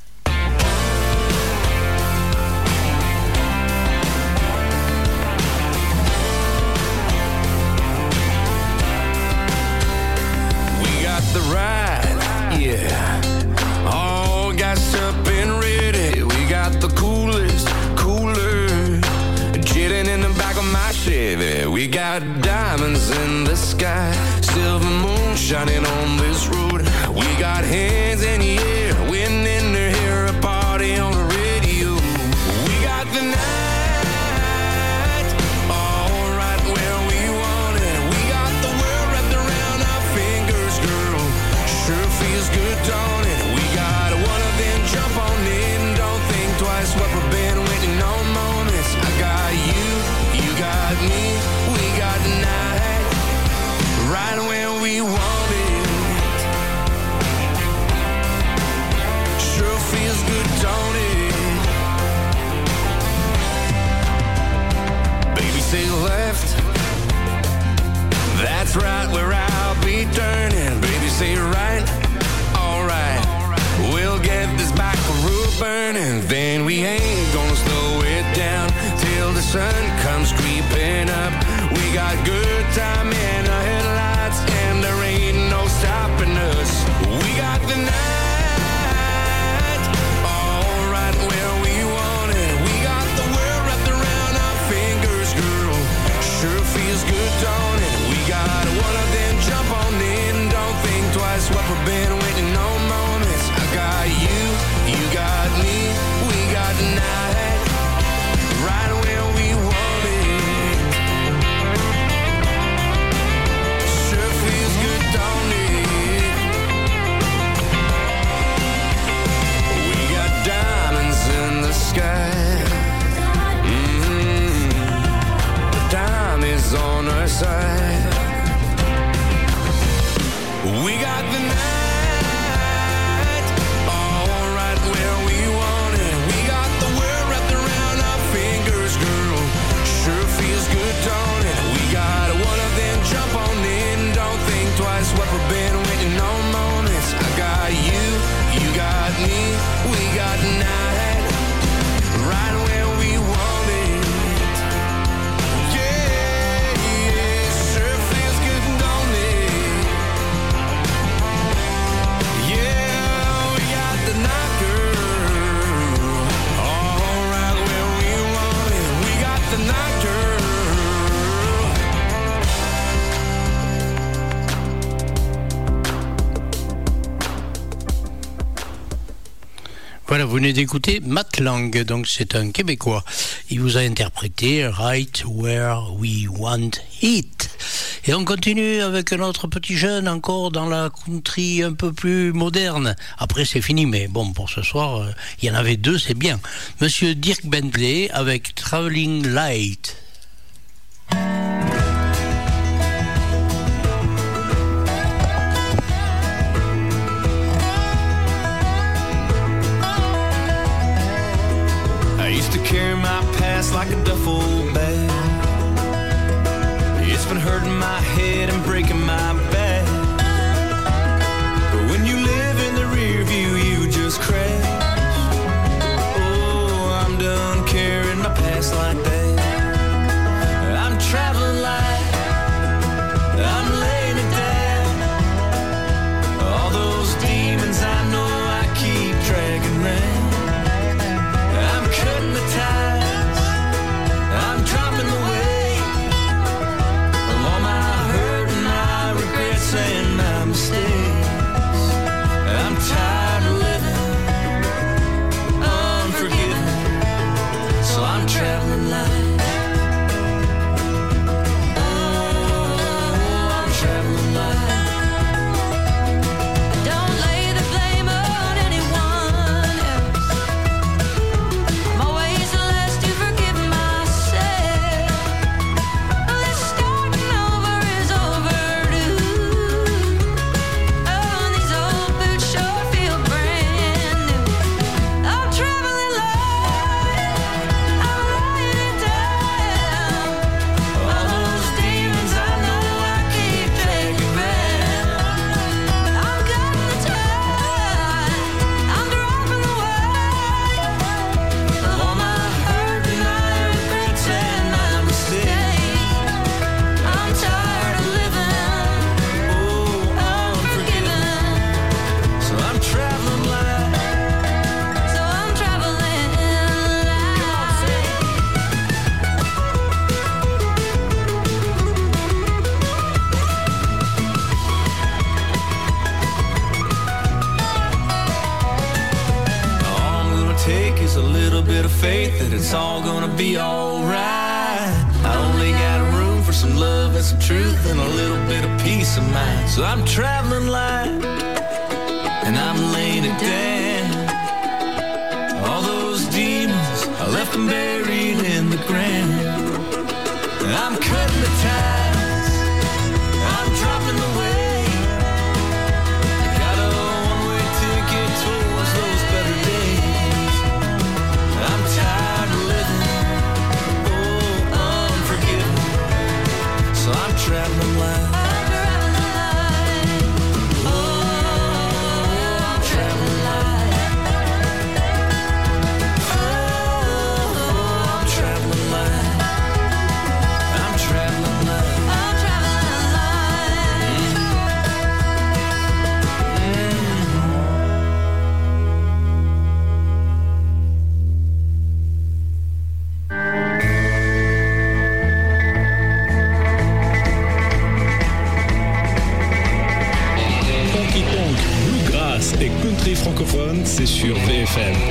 The ride, yeah, all gassed up and ready. We got the coolest cooler chilling in the back of my Chevy. We got diamonds in the sky, silver moon shining on this road. We got hands in the air, winning to hear a party on the radio. We got the night all right where we want it. We got the world wrapped around our fingers, girl. Sure feels good, don't it? We got one of them jump on in, don't think twice what we've been waiting on moments. I got you, you got me, we got the night right where we want it. Sure feels good, don't it? Baby, say left, that's right where I'll be turning. Baby, say right, alright, we'll get this back road burning. Then we ain't gonna slow it down till the sun comes creeping up. We got good time in our headlights and there ain't no stopping us. We got the night alright where we want it. We got the world wrapped around our fingers, girl. Sure feels good, don't it? We got one of them jump on in, don't think twice what we've been waiting on moments. I got you, you got me, we got the night right where we want it. Sure feels good, don't it? We got diamonds in the sky. Mm-hmm. The time is on our side. We got the night all right where we want it. We got the world wrapped around our fingers, girl. Sure feels good, don't it? We got one of them jump on in, don't think twice what we've been waiting on moments. I got you, you got me, we got the night right where we want it. Yeah, yeah, sure feels good, don't it? Voilà, vous venez d'écouter Matt Lang, donc c'est un Québécois. Il vous a interprété Right Where We Want It. Et on continue avec un autre petit jeune, encore dans la country un peu plus moderne. Après c'est fini, mais bon, pour ce soir, euh, il y en avait deux, c'est bien. Monsieur Dirk Bentley avec Traveling Light. I used to carry my past like a duffel bag. It's been hurting my head and breaking my back. But when you live in the rear view, you just crash. Oh, I'm done carrying my past like that. I'm traveling light, I'm laying it down. All those demons I know I keep dragging round. I'm cutting the ties, I'm dropping the weight of all my hurt and my regret. bit of faith that it's all gonna be alright. I only got room for some love and some truth and a little bit of peace of mind. So I'm traveling light and I'm laying it down. All those demons, I left them buried in the ground. I'm cutting the ties, I'm dropping the weight. I got a one-way ticket towards those better days. I'm tired of living, oh, unforgiving. So I'm traveling light. Et country francophone, c'est sur V F M.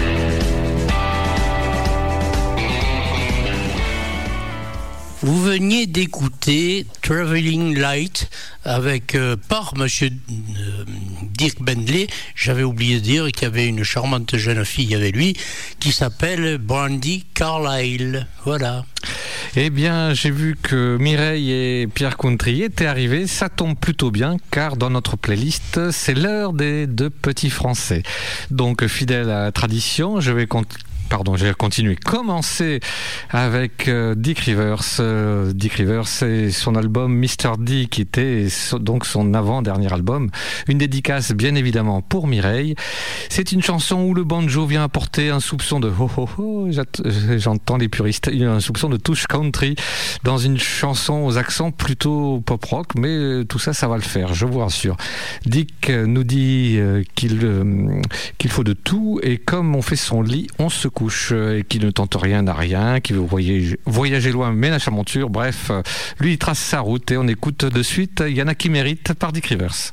Vous veniez d'écouter Traveling Light avec euh, par Monsieur euh, Dirk Bentley. J'avais oublié de dire qu'il y avait une charmante jeune fille avec lui qui s'appelle Brandy Carlyle. Voilà. Eh bien, j'ai vu que Mireille et Pierre Country étaient arrivés. Ça tombe plutôt bien, car dans notre playlist, c'est l'heure des deux petits Français. Donc, fidèle à la tradition, je vais continuer. Pardon, j'ai continué. Commencer avec euh, Dick Rivers. Euh, Dick Rivers, c'est son album mister D, qui était so, donc son avant-dernier album. Une dédicace, bien évidemment, pour Mireille. C'est une chanson où le banjo vient apporter un soupçon de ho ho ho, j'entends les puristes, un soupçon de touche country dans une chanson aux accents plutôt pop-rock, mais tout ça, ça va le faire, je vous rassure. Dick nous dit euh, qu'il, euh, qu'il faut de tout, et comme on fait son lit, on se couche, et qui ne tente rien n'a rien, qui veut voyager, voyager loin, ménage à monture. Bref, lui il trace sa route et on écoute de suite Il y en a qui méritent par Dick Rivers.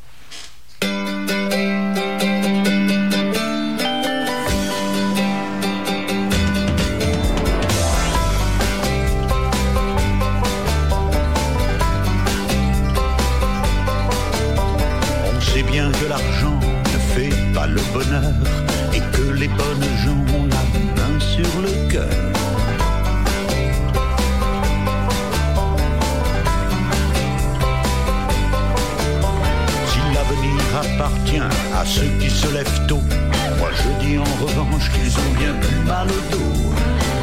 On sait bien que l'argent ne fait pas le bonheur et que les bonnes gens ont la main sur le cœur. Si l'avenir appartient à ceux qui se lèvent tôt, moi je dis en revanche qu'ils ont bien plus mal au dos.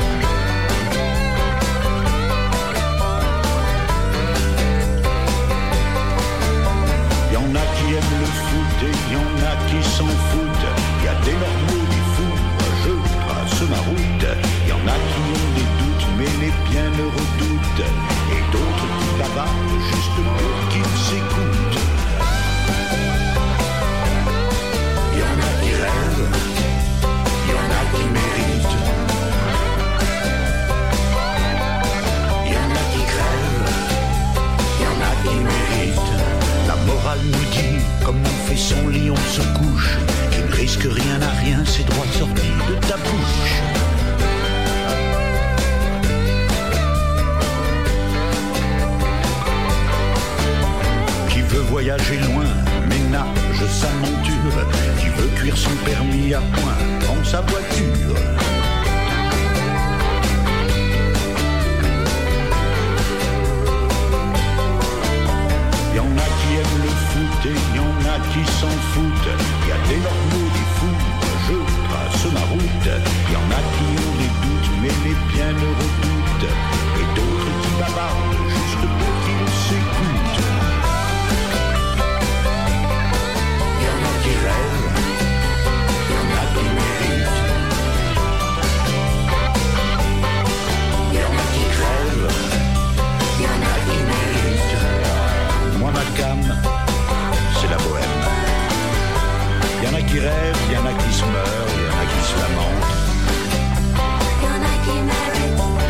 Y en a qui aiment le foot et y en a qui s'en foutent. Y a des normaux, des fous, moi je trace ma route. Y en a qui ont des doutes, mais les bienheureux doutent. Et d'autres qui bavardent juste pour qu'ils s'écoutent. Y en a qui rêvent, y en a qui méritent. Y en a qui crèvent, y en a qui méritent. La morale nous dit, comme on fait son lit, on se couche. Qui ne risque rien à rien, c'est droit sorti de ta bouche. Qui veut voyager loin, ménage sa monture. Qui veut cuire son permis à point, prend sa voiture. Y en a qui aiment le foot et y en a qui s'en foutent. Y a des normaux, des fous, je trace ma route. Y en a qui ont des doutes, mais les bienheureux doutent. Et d'autres qui bavardent juste pour qu'ils s'écoutent. Y en a qui rêvent, y en a qui méritent. Y en a qui crèvent, y en a qui méritent. Moi ma gamme, c'est la bohème. Y en a qui rêvent, y en a qui se meurent, y en a qui se lamentent. Y en a qui méritent,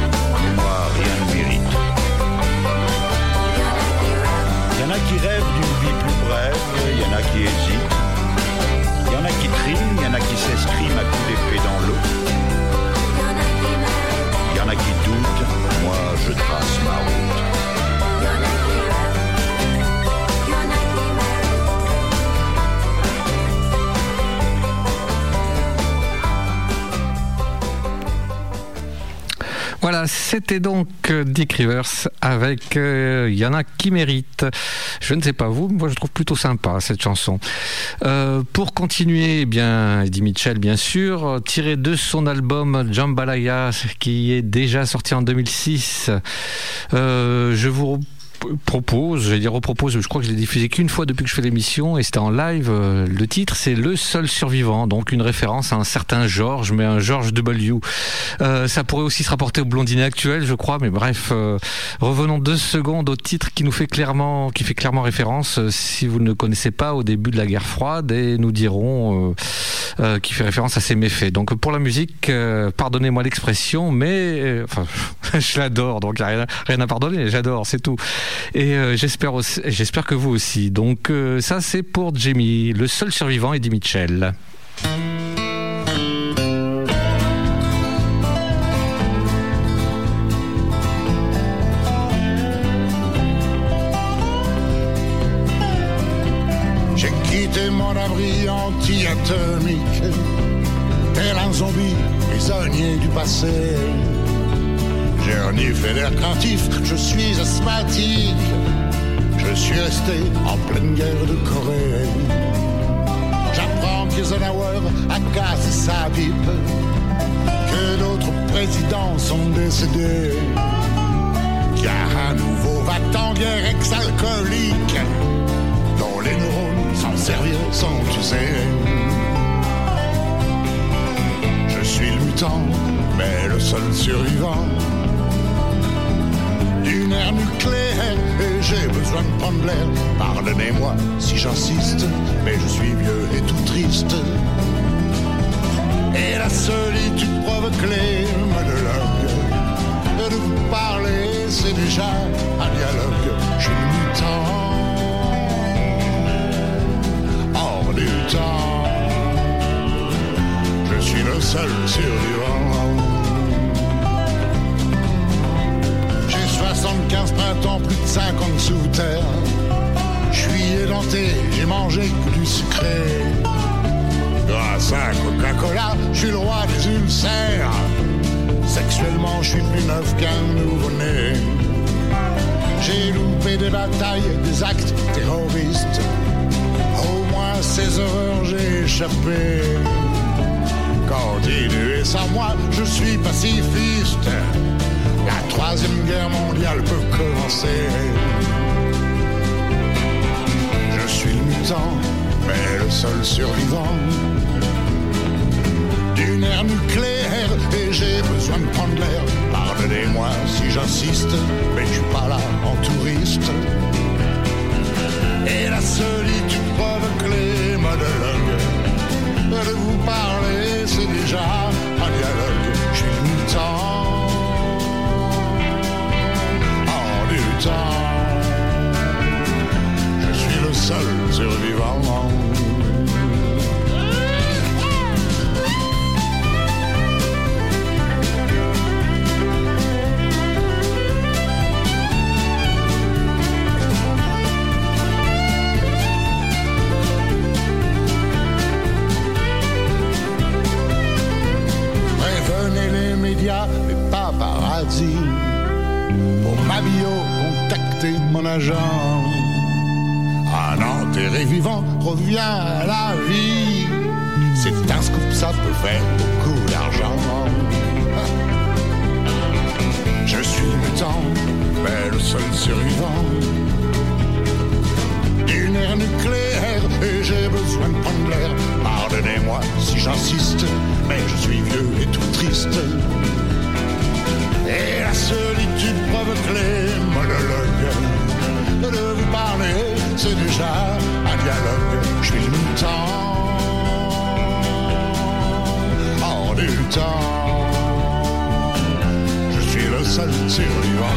Voilà, c'était donc Dick Rivers avec euh, Il y en a qui méritent. Je ne sais pas vous, moi je trouve plutôt sympa cette chanson. Euh, pour continuer, eh bien, Eddie Mitchell, bien sûr, tiré de son album Jambalaya, qui est déjà sorti en deux mille six. Euh, je vous propose, j'allais dire repropose, je crois que je l'ai diffusé qu'une fois depuis que je fais l'émission et c'était en live. Le titre c'est Le Seul Survivant, donc une référence à un certain George, mais un George W. Euh, ça pourrait aussi se rapporter au Blondinet actuel, je crois, mais bref, euh, revenons deux secondes au titre qui nous fait clairement, qui fait clairement référence, euh, si vous ne le connaissez pas, au début de la guerre froide, et nous dirons euh, euh, qui fait référence à ses méfaits. Donc pour la musique, euh, pardonnez-moi l'expression, mais euh, enfin, je l'adore, donc il n'y a rien, rien à pardonner, j'adore, c'est tout. Et euh, j'espère aussi, j'espère que vous aussi. Donc euh, ça c'est pour Jamie, Le Seul Survivant, Eddie Mitchell. J'ai quitté mon abri anti-atomique, tel un zombie prisonnier du passé. J'ai reniflé l'air craintif, je suis asthmatique. Je suis resté en pleine guerre de Corée. J'apprends qu'Eisenhower a cassé sa pipe, que d'autres présidents sont décédés, qu'il y a un nouveau va-t-en guerre ex-alcoolique, dont les neurones s'en servir sont usés. Je suis le mutant, mais le seul survivant d'une ère nucléaire, et j'ai besoin de prendre l'air. Pardonnez-moi si j'insiste, mais je suis vieux et tout triste. Et la solitude provoque les monologues. De vous parler, c'est déjà un dialogue. Je suis le mutant, hors du temps. Je suis le seul survivant. soixante-quinze printemps, plus de cinquante sous terre. Je suis édenté, j'ai mangé que du sucré. Grâce à Coca-Cola, je suis le roi des ulcères. Sexuellement, je suis plus neuf qu'un nouveau-né. J'ai loupé des batailles, des actes terroristes. Au moins ces horreurs, j'ai échappé. Continuez sans moi, je suis pacifiste. La troisième guerre mondiale peut commencer. Je suis le mutant, mais le seul survivant d'une ère nucléaire, et j'ai besoin de prendre l'air. Pardonnez-moi si j'insiste, mais je suis pas là en touriste. Et la solitude provoque les monologues. De vous parler, c'est déjà un dialogue. Je suis le mutant, je suis le seul survivant. Prévenez les médias, les paparazzi, pour ma bio, contactez mon agent. Un enterré vivant revient à la vie. C'est un scoop, ça peut faire beaucoup d'argent. Je suis mutant, mais le seul survivant d'une ère nucléaire, et j'ai besoin de prendre l'air. Pardonnez-moi si j'insiste, mais je suis vieux et tout triste. Et la solitude provoque les monologues. De vous parler, c'est déjà un dialogue. Je suis le mutant, hors du temps. Je suis le seul survivant.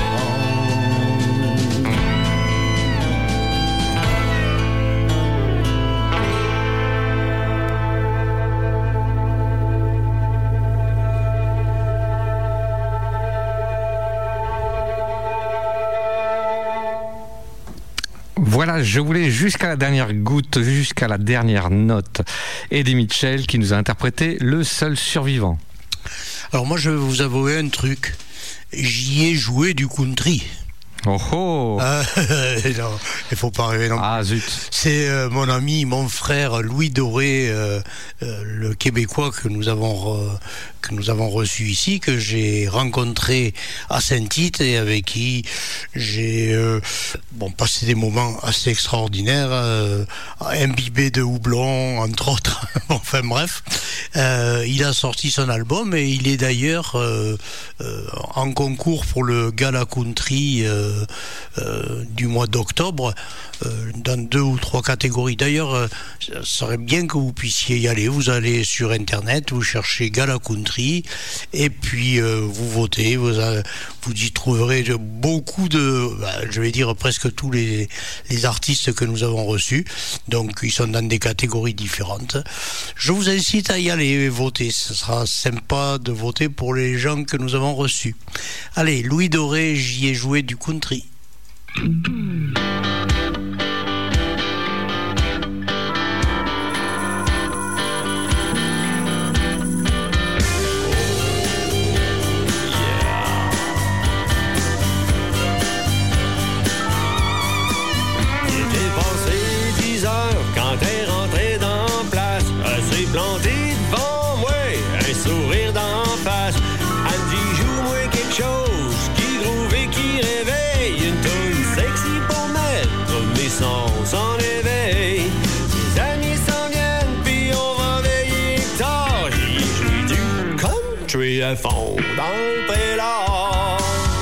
Voilà, je voulais jusqu'à la dernière goutte, jusqu'à la dernière note, Eddie Mitchell qui nous a interprété Le Seul Survivant. Alors moi je vais vous avouer un truc, j'y ai joué du country. Oh oh euh, non, il faut pas rêver non plus. Ah zut. C'est euh, mon ami, mon frère Louis Doré, euh, euh, le Québécois que nous avons re, que nous avons reçu ici, que j'ai rencontré à Saint-Tite et avec qui j'ai euh, bon passé des moments assez extraordinaires, euh, imbibé de houblon entre autres. Enfin bref, euh, il a sorti son album et il est d'ailleurs euh, euh, en concours pour le Gala Country. Euh, Euh, du mois d'octobre euh, dans deux ou trois catégories. D'ailleurs, euh, ça serait bien que vous puissiez y aller. Vous allez sur internet, vous cherchez Gala Country et puis euh, vous votez. Vous, a, vous y trouverez beaucoup de, bah, je vais dire presque tous les, les artistes que nous avons reçus. Donc ils sont dans des catégories différentes. Je vous incite à y aller et voter. Ce sera sympa de voter pour les gens que nous avons reçus. Allez, Louis Doré, j'y ai joué du country. À fond dans le prélat.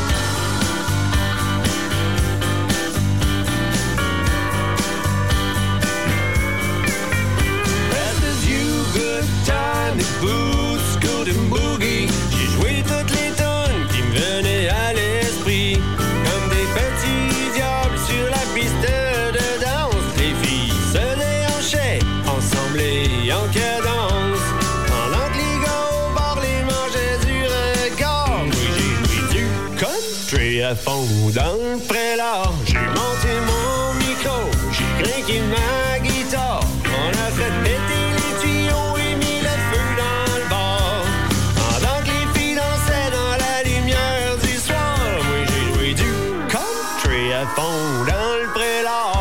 Rest is you, good time, the boots, good and boogie. J'ai joué toutes les tonnes qui me venaient à l'esprit. Comme des petits diables sur la piste de danse. Les filles se déhanchaient ensemble et en cadence. Pendant que les gars au bord les mangeaient du regard. Moi j'ai joué du country à fond dans le prélat. J'ai monté mon micro, j'ai craqué ma guitare. On a fait péter les tuyaux et mis le feu dans le bar. Pendant que les filles dansaient dans la lumière du soir. Moi j'ai joué du country à fond dans le prélat.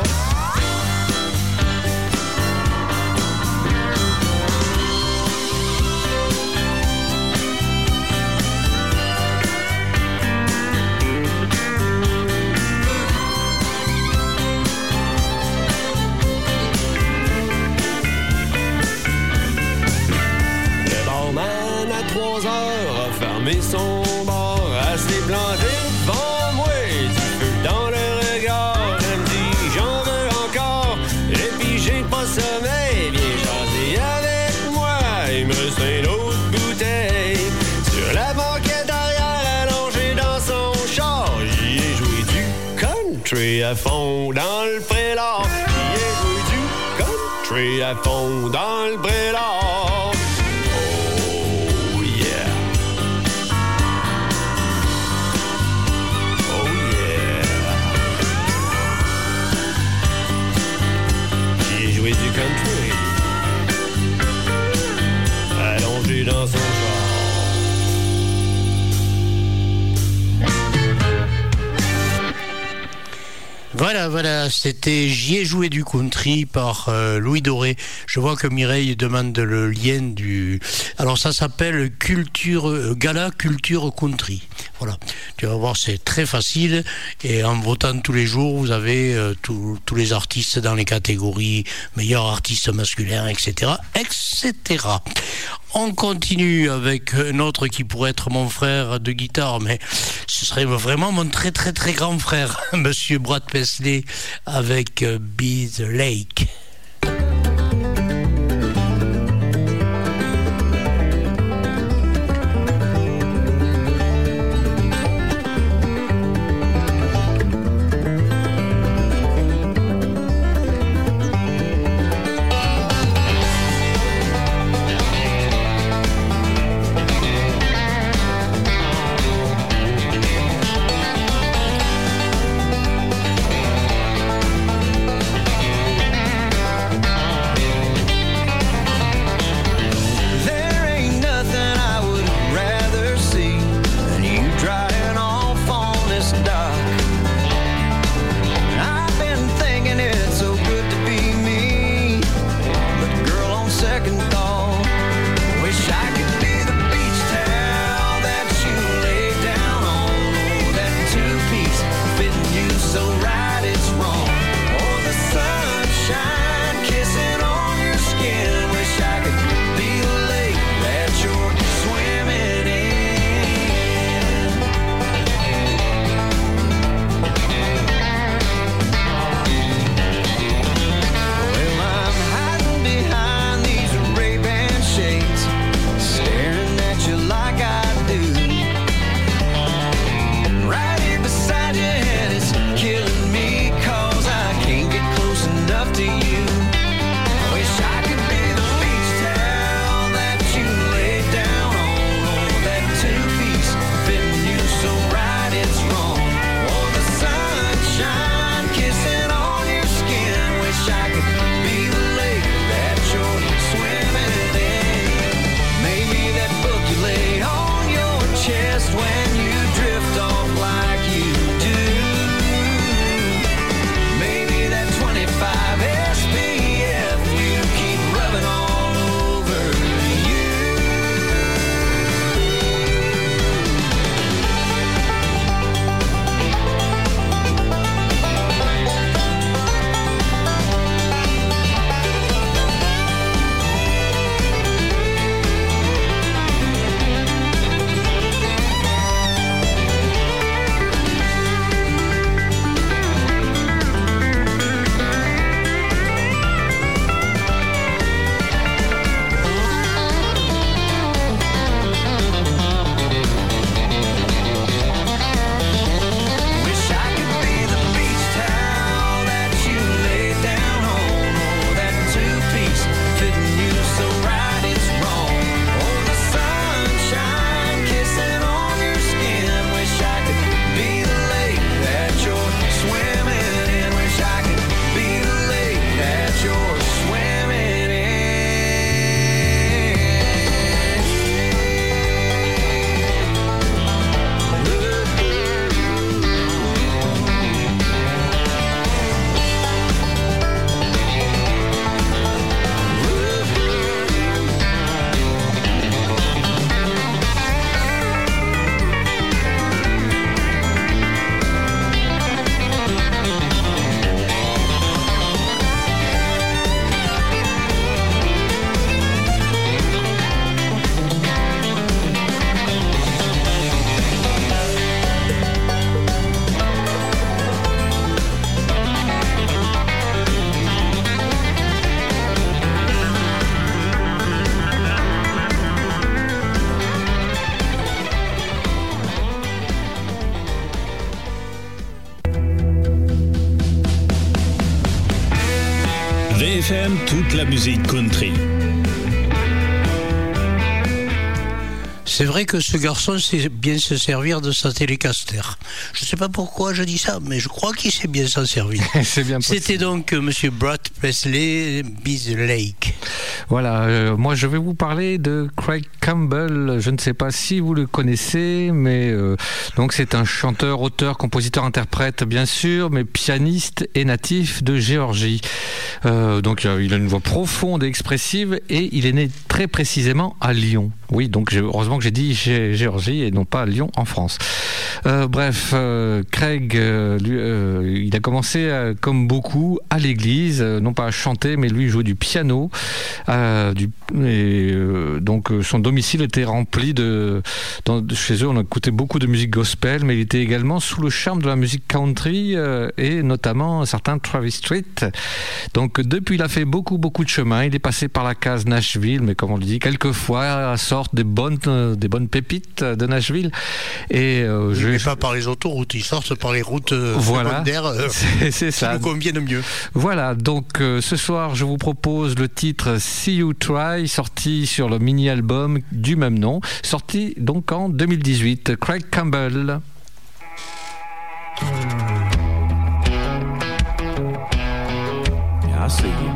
Mais son bord assez planté devant moi, du feu dans le regard. Elle me dit j'en veux encore, et puis j'ai pas sommeil. Viens jaser avec moi, il me reste une autre bouteille. Sur la banquette arrière allongée dans son char, j'y ai joué du country à fond dans le prélat. J'y ai joué du country à fond dans le prélat. Du country allongé dans son char. Voilà, voilà, c'était J'y ai joué du country par euh, Louis Doré. Je vois que Mireille demande le lien du... Alors ça s'appelle Culture euh, Gala Culture Country. Voilà, tu vas voir, c'est très facile et en votant tous les jours, vous avez euh, tous les artistes dans les catégories meilleur artiste masculin, et cetera, et cetera. On continue avec un autre qui pourrait être mon frère de guitare, mais ce serait vraiment mon très très très grand frère, Monsieur Brad Paisley, avec euh, Be the Lake. Thank F M, toute la musique country. C'est vrai que ce garçon sait bien se servir de sa Telecaster. Je ne sais pas pourquoi je dis ça, mais je crois qu'il sait bien s'en servir. C'est bien possible. C'était donc euh, Monsieur Brad Paisley, Bees Lake. Voilà, euh, moi je vais vous parler de Craig Campbell. Je ne sais pas si vous le connaissez, mais euh, donc c'est un chanteur, auteur, compositeur, interprète, bien sûr, mais pianiste et natif de Géorgie. Euh, donc euh, il a une voix profonde et expressive, et il est né très précisément à Lyon. Oui, donc j'ai, heureusement que j'ai dit Gé- Géorgie et non pas Lyon en France. Euh, bref, euh, Craig, euh, lui, euh, il a commencé euh, comme beaucoup à l'église, euh, non pas à chanter, mais lui jouait du piano. Euh, du, et, euh, donc euh, son domicile était rempli de, dans, de. Chez eux, on écoutait beaucoup de musique gospel, mais il était également sous le charme de la musique country euh, et notamment certains Travis Street. Donc depuis, il a fait beaucoup, beaucoup de chemin. Il est passé par la case Nashville, mais comme on le dit, quelquefois sortent des bonnes, euh, des bonnes pépites de Nashville. Et euh, je Mais vais pas par les autoroutes, ils sortent par les routes euh, Voilà. secondaires euh, C'est, c'est qui ça. nous conviennent mieux. Voilà, donc euh, ce soir, je vous propose le titre See You Try, sorti sur le mini-album du même nom, sorti donc en deux mille dix-huit. Craig Campbell. Yeah, I see you.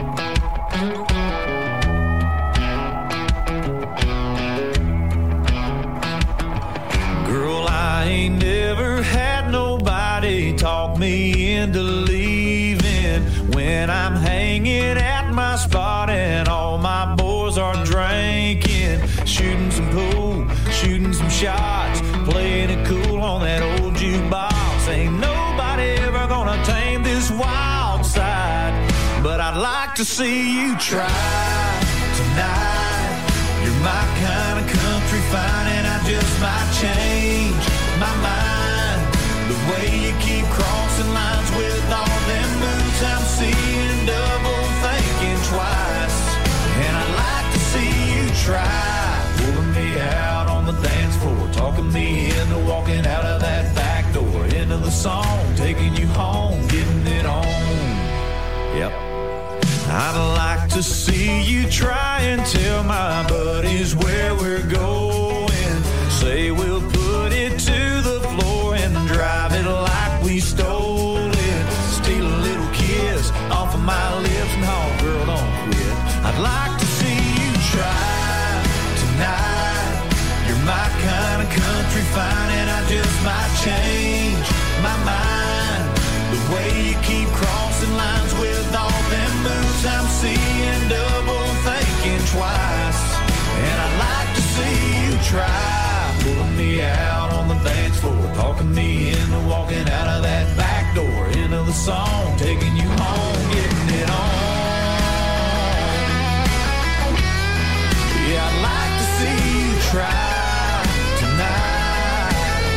Girl, I ain't never had nobody talk me into leaving when I'm hanging at my spot and all my boys are drinking, shooting some pool, shooting some shots, playing it cool on that old jukebox. Ain't nobody ever gonna tame this wild side, but I'd like to see you try tonight. You're my kind of country fine, and I just might change my mind. The way you keep crossing lines with all them moves, I'm seeing double, thinking twice. And I'd like to see you try pulling me out on the dance floor, talking me into walking out of that back door, into the song, taking you home, getting it on. Yep. I'd like to see you try and tell my buddies where we're going. Say we'll put it to the floor and drive it like we stole it. Steal a little kiss off of my lips, no, girl, don't quit. I'd like to see you try tonight. You're my kind of country fine, and I just might change my mind. The way you keep crossing lines with all them moves, I'm seeing double, thinking twice. And I'd like to see you try pulling me out on the dance floor, talking me into walking out of that back door, into the song, taking you home, getting it on. Yeah, I'd like to see you try tonight.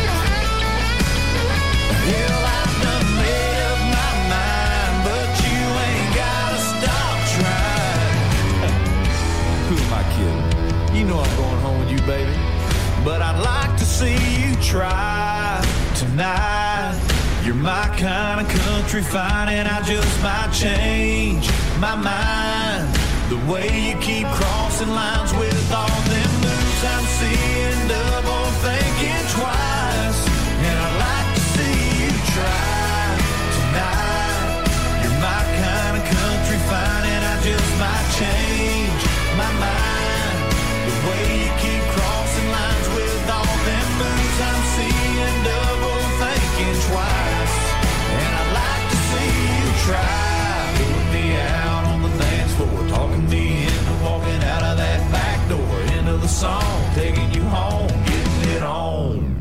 Hell, I've done made up my mind, but you ain't gotta stop trying. Who am I kidding? You know I'm going home with you, baby. But I'd like to see you try tonight. You're my kind of country fine, and I just might change my mind. The way you keep crossing lines with all them moves, I'm seeing double, thinking twice. And I'd like to see you try tonight. You're my kind of country fine, and I just might change my mind. The way you keep crossing lines with all them moves, I'm seeing double, thinking twice. And I'd like to see you try pulling me out on the dance floor, talking me into walking out of that back door, into the song, taking you home, getting it on.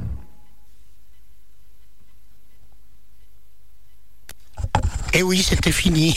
Eh oui, c'était fini.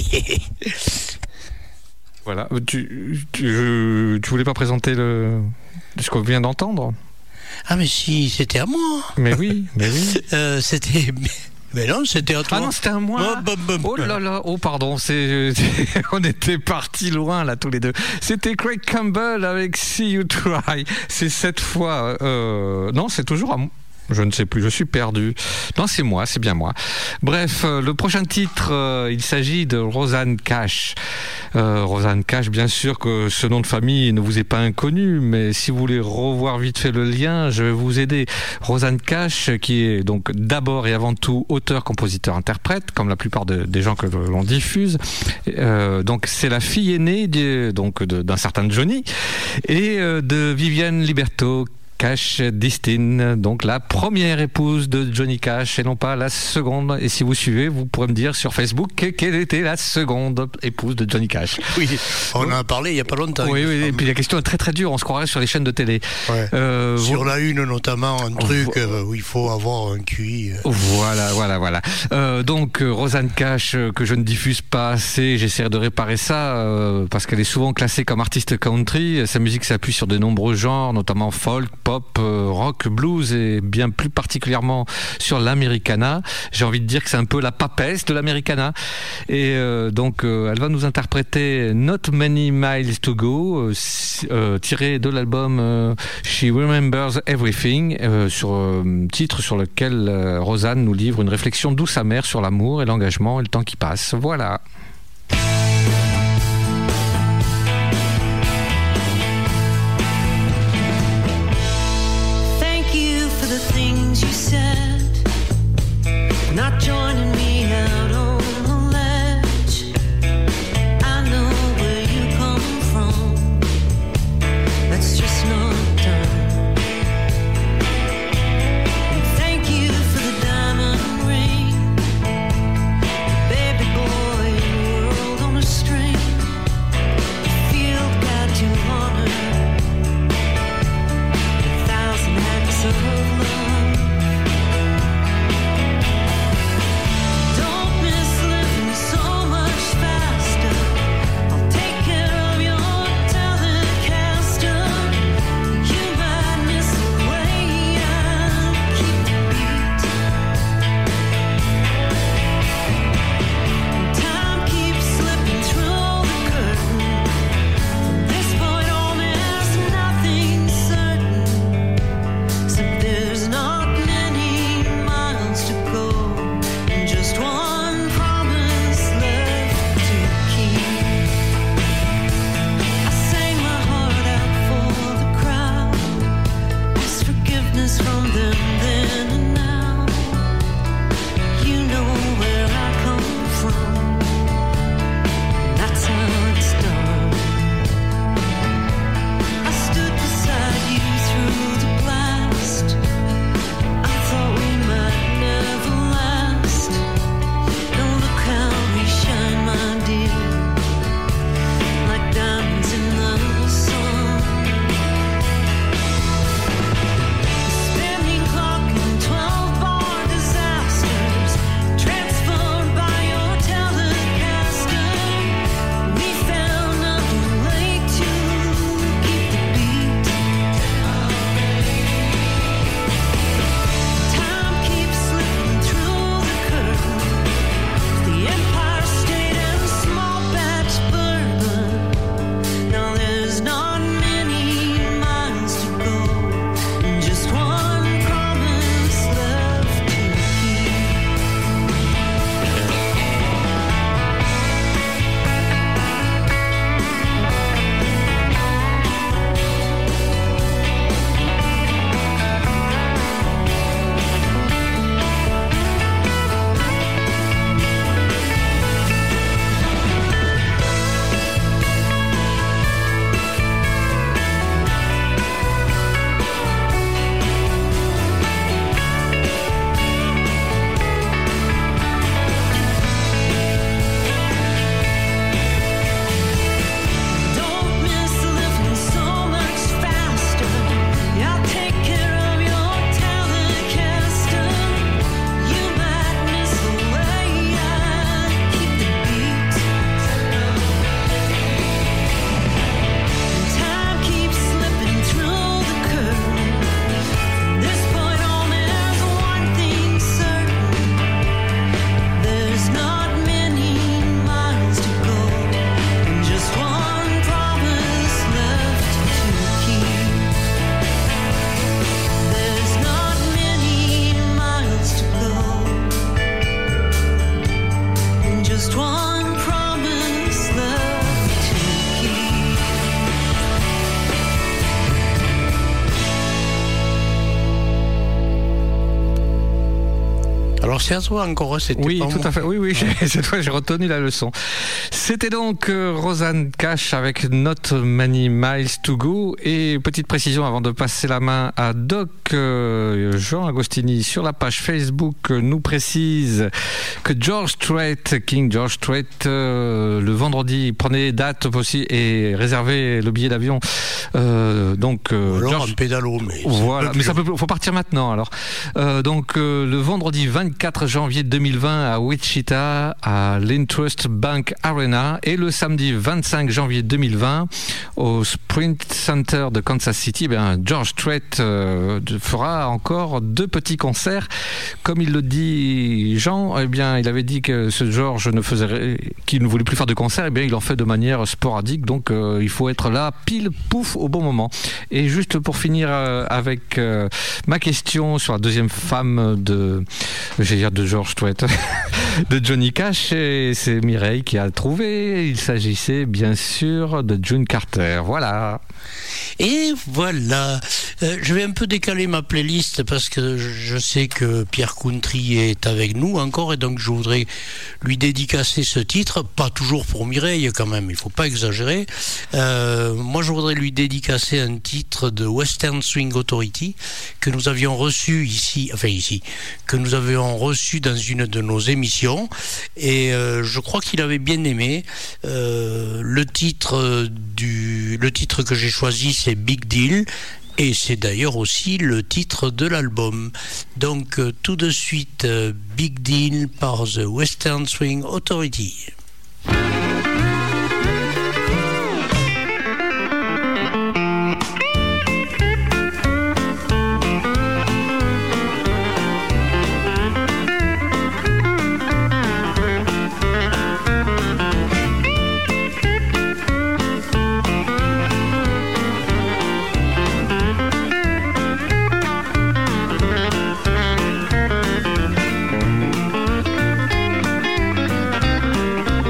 Voilà. Tu, tu, tu voulais pas présenter le, ce qu'on vient d'entendre? Ah mais si, c'était à moi. Mais oui, mais oui. Euh, c'était... Mais non, c'était à toi. Ah non, c'était à moi. Oh, bum, bum. Oh là là, oh pardon, c'est, c'est- on était partis loin là tous les deux. C'était Craig Campbell avec See You Try. C'est cette fois, euh, non, c'est toujours à moi. Je ne sais plus, je suis perdu. Non, c'est moi, c'est bien moi. Bref, euh, le prochain titre, euh, il s'agit de Rosanne Cash. Euh, Rosanne Cash, bien sûr que ce nom de famille ne vous est pas inconnu, mais si vous voulez revoir vite fait le lien, je vais vous aider. Rosanne Cash, qui est donc d'abord et avant tout auteur, compositeur, interprète, comme la plupart de, des gens que l'on diffuse. Euh, donc c'est la fille aînée de, donc de, d'un certain Johnny et euh, de Viviane Liberto Cash Distin, donc la première épouse de Johnny Cash et non pas la seconde. Et si vous suivez, vous pourrez me dire sur Facebook quelle était la seconde épouse de Johnny Cash. Oui, on en a parlé il n'y a pas longtemps. Oui, oui, et puis la question est très très dure, on se croirait sur les chaînes de télé. Ouais. Euh, sur vous... la une notamment, un truc euh, où il faut avoir un Q I. Euh. Voilà, voilà, voilà. Euh, donc Rosanne Cash, euh, que je ne diffuse pas assez, j'essaierai de réparer ça, euh, parce qu'elle est souvent classée comme artiste country. Sa musique s'appuie sur de nombreux genres, notamment folk, pop, pop, rock, blues et bien plus particulièrement sur l'americana. J'ai envie de dire que c'est un peu la papesse de l'americana. Et euh, donc euh, elle va nous interpréter Not Many Miles to Go, euh, euh, tiré de l'album euh, She Remembers Everything, euh, sur euh, titre sur lequel euh, Rosanne nous livre une réflexion douce amère sur l'amour et l'engagement et le temps qui passe. Voilà. Not joining me out on the ledge. I know where you come from. That's just not done. And thank you for the diamond ring, baby boy, world on a string. The field got you honored, a thousand acts of love. Twelve Alors c'est à toi encore, c'était Oui, pas tout moi. à fait. Oui, oui, j'ai- cette fois j'ai retenu la leçon. C'était donc euh, Rosanne Cash avec Not Many Miles to Go. Et petite précision avant de passer la main à Doc, euh, Jean Agostini sur la page Facebook euh, nous précise que George Strait, King George Strait, euh, le vendredi, prenez date aussi et réservez le billet d'avion. Euh, donc euh, Ou alors George- un pédalo, mais c'est voilà, pas mais ça plus peut, faut partir maintenant alors. Euh, donc euh, le vendredi vingt-quatre janvier deux mille vingt à Wichita à l'Intrust Bank Arena et le samedi vingt-cinq janvier deux mille vingt au Sprint Center de Kansas City, ben, George Strait euh, fera encore deux petits concerts. Comme il le dit Jean, eh bien il avait dit que ce George ne faisait qu'il ne voulait plus faire de concerts, eh bien il en fait de manière sporadique, donc euh, il faut être là pile pouf au bon moment. Et juste pour finir euh, avec euh, ma question sur la deuxième femme de, j'allais dire de George Strait, de Johnny Cash, et c'est Mireille qui a trouvé. Il s'agissait bien sûr de June Carter. Voilà. Et voilà, euh, je vais un peu décaler ma playlist parce que je sais que Pierre Country est avec nous encore et donc je voudrais lui dédicacer ce titre, pas toujours pour Mireille quand même, il faut pas exagérer. Euh, moi je voudrais lui dédicacer un titre de Western Swing Authority que nous avions reçu ici, enfin ici, que nous avions reçu dans une de nos émissions et euh, je crois qu'il avait bien aimé. Euh, le titre du, le titre que j'ai choisi c'est Big Deal et c'est d'ailleurs aussi le titre de l'album. Donc euh, tout de suite euh, Big Deal par The Western Swing Authority. Thank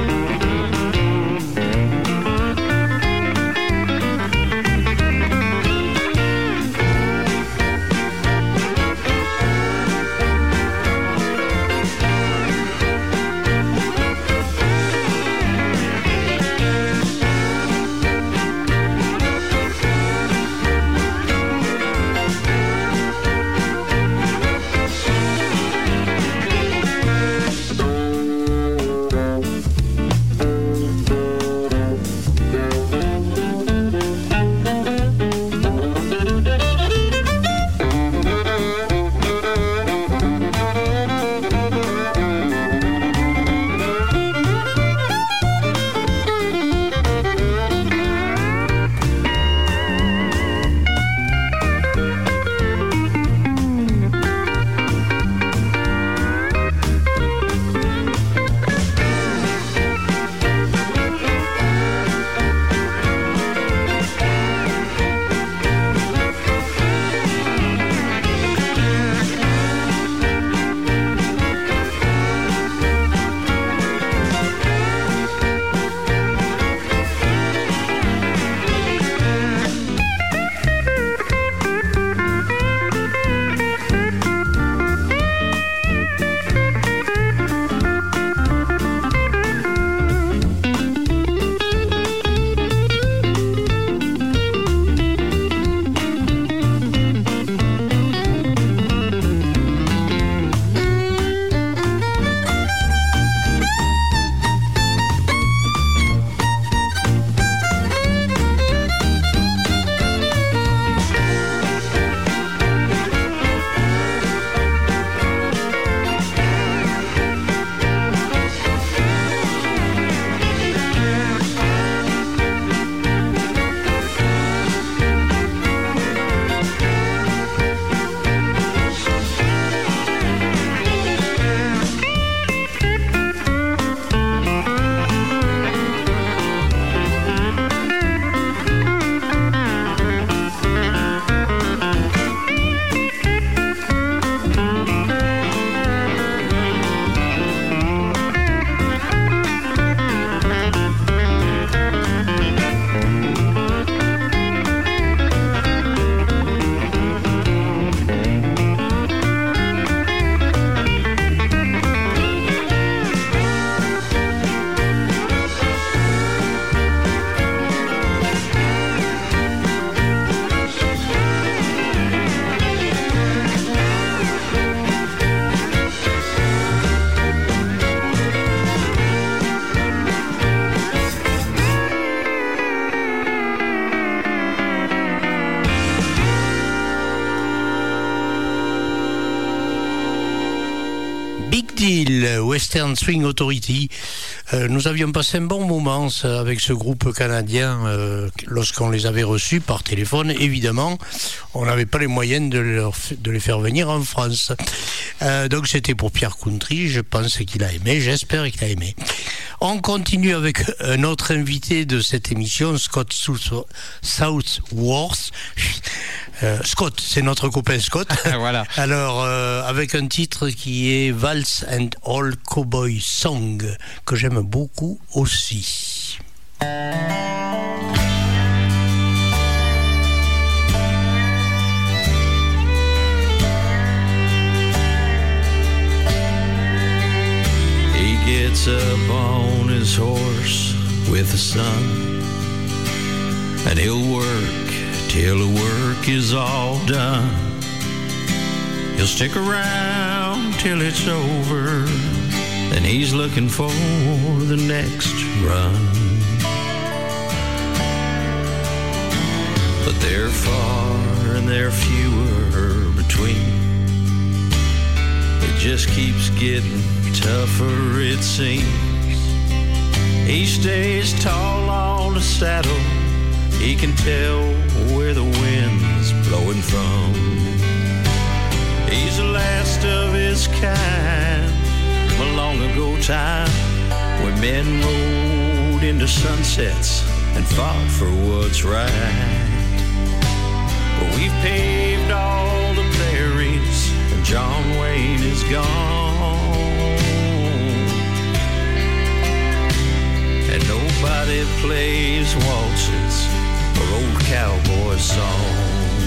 Big Deal, Western Swing Authority. Euh, nous avions passé un bon moment avec ce groupe canadien euh, lorsqu'on les avait reçus par téléphone. Évidemment, on n'avait pas les moyens de, leur, de les faire venir en France. Euh, donc c'était pour Pierre Country. Je pense qu'il a aimé, j'espère qu'il a aimé. On continue avec un autre invité de cette émission, Scott Southworth. Euh, Scott, c'est notre copain Scott. Voilà. Alors, euh, avec un titre qui est Waltz and All Cowboy Song, que j'aime beaucoup aussi. He gets up on his horse with the sun, and he'll work till the work is all done. He'll stick around till it's over, then he's looking for the next run. But they're far and they're fewer between. It just keeps getting tougher, it seems. He stays tall on the saddle, he can tell where the wind's blowing from. He's the last of his kind, a long ago time when men rode into sunsets and fought for what's right. But we've paved all the prairies and John Wayne is gone, and nobody plays waltzes or old cowboy songs.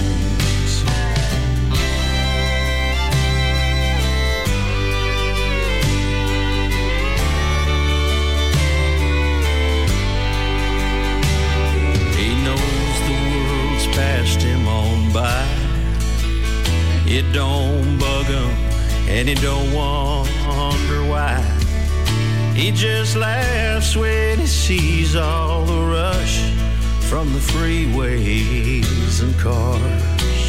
He knows the world's passed him on by. It don't bug him and he don't wonder why. He just laughs when he sees all the rush from the freeways and cars.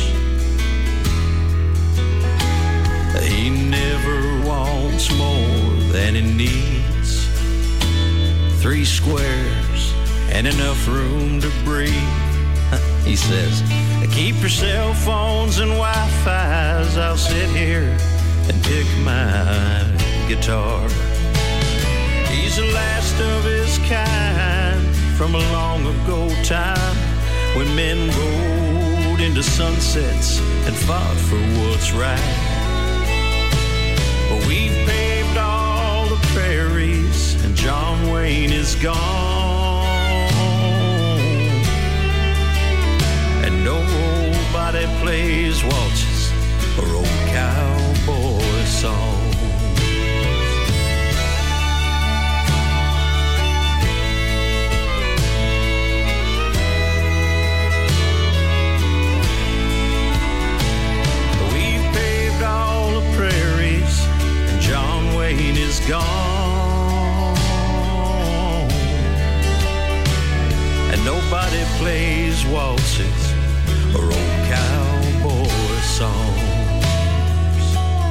He never wants more than he needs. Three squares and enough room to breathe. He says, keep your cell phones and Wi-Fi's, I'll sit here and pick my guitar. He's the last of his kind from a long ago time when men rode into sunsets and fought for what's right. But we've paved all the prairies and John Wayne is gone, and nobody plays waltzes or old cowboy songs. Wayne is gone, and nobody plays waltzes or old cowboy songs.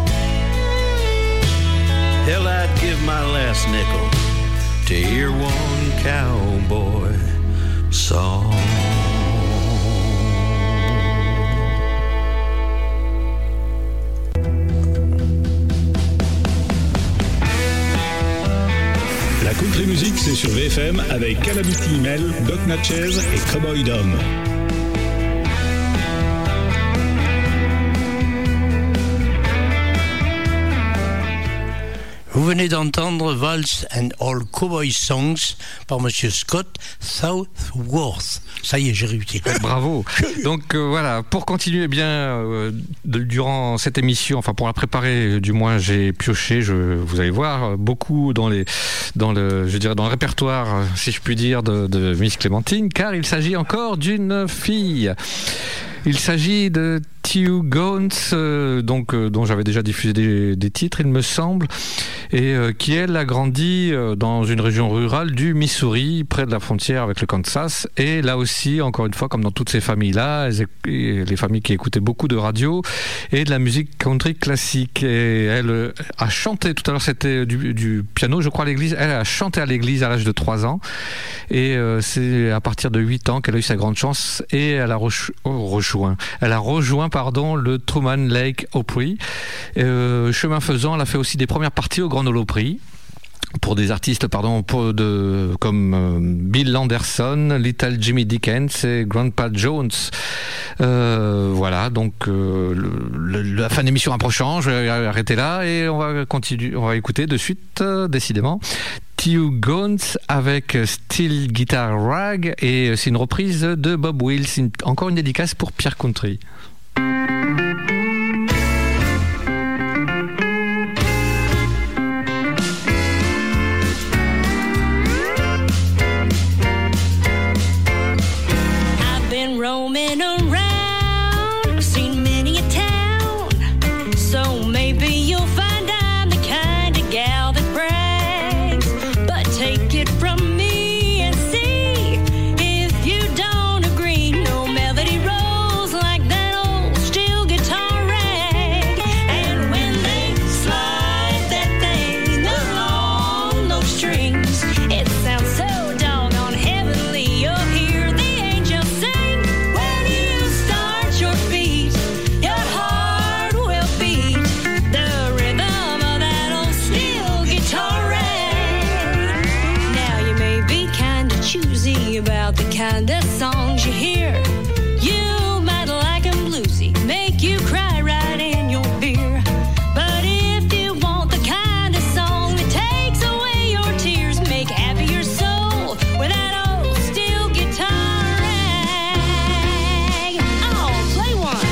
Hell, I'd give my last nickel to hear one cowboy song. La country music, c'est sur V F M avec Calamity Mel, Doc Natchez et Cowboy Dom. Vous venez d'entendre Waltz and All Cowboy Songs par Monsieur Scott Southworth. Ça y est, j'ai réussi. Bravo. Donc euh, voilà, pour continuer bien euh, de, durant cette émission, enfin pour la préparer, du moins j'ai pioché, je, vous allez voir, beaucoup dans les, dans le, je dirais dans le répertoire, si je puis dire, de, de Miss Clémentine, car il s'agit encore d'une fille. Il s'agit de Stu Gones, euh, donc, euh, dont j'avais déjà diffusé des, des titres, il me semble, et euh, qui, elle, a grandi euh, dans une région rurale du Missouri, près de la frontière avec le Kansas. Et là aussi, encore une fois, comme dans toutes ces familles-là, les familles qui écoutaient beaucoup de radio et de la musique country classique. Et elle euh, a chanté, tout à l'heure c'était du, du piano, je crois, à l'église. Elle a chanté à l'église à l'âge de trois ans. Et euh, c'est à partir de huit ans qu'elle a eu sa grande chance et elle a re- oh, rejoint. Elle a rejoint pardon, le Truman Lake Opry. Euh, chemin faisant, elle a fait aussi des premières parties au Grand Ole Opry pour des artistes pardon, pour de, comme euh, Bill Anderson, Little Jimmy Dickens et Grandpa Jones. Euh, voilà, donc euh, le, le, la fin de l'émission approchant, je vais arrêter là et on va continuer, on va écouter de suite, euh, décidément, Stu Gones avec Steel Guitar Rag, et c'est une reprise de Bob Wills, une, encore une dédicace pour Pierre Country. Roaming around, seen many a town, so maybe you'll find I'm the kind of gal that brags. But take it from me and see if you don't agree. No melody rolls like that old steel guitar rag. And when they slide that thing along those strings, it sounds so doggone heavenly. You'll hear the angels sing. About the kind of songs you hear, you might like them bluesy, make you cry right in your beer. But if you want the kind of song that takes away your tears, make happy your soul with that old steel guitar rag. Oh, play one.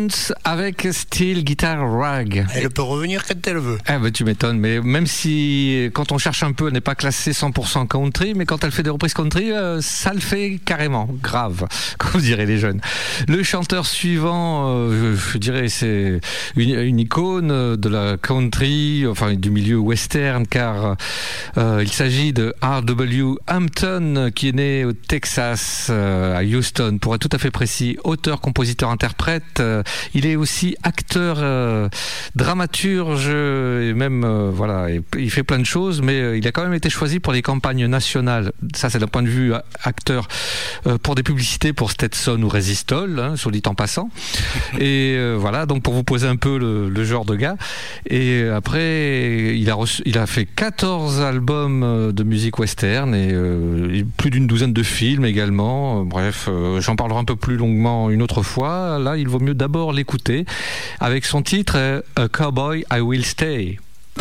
Jones avec Steel Guitar Rag. Elle peut revenir quand elle veut. Ah bah tu m'étonnes, mais même si quand on cherche un peu, elle n'est pas classée cent pour cent country, mais quand elle fait des reprises country, euh, ça le fait carrément, grave, comme diraient les jeunes. Le chanteur suivant, euh, je, je dirais, c'est une, une icône de la country, enfin du milieu western, car euh, il s'agit de R W Hampton, qui est né au Texas, euh, à Houston, pour être tout à fait précis, auteur, compositeur, interprète. Euh, il est aussi acteur, euh, dramaturge, et même, euh, voilà, et, il fait plein de choses, mais euh, il a quand même été choisi pour les campagnes nationales. Ça, c'est d'un point de vue acteur, euh, pour des publicités pour Stetson ou Resistol, hein, sur dit en passant. Et euh, voilà, donc pour vous poser un peu le, le genre de gars. Et après, il a, reçu, il a fait quatorze albums de musique western et euh, plus d'une douzaine de films également. Bref, euh, j'en parlerai un peu plus longuement une autre fois. Là, il vaut mieux d'abord l'écouter avec son titre euh, A Cowboy I Will Stay.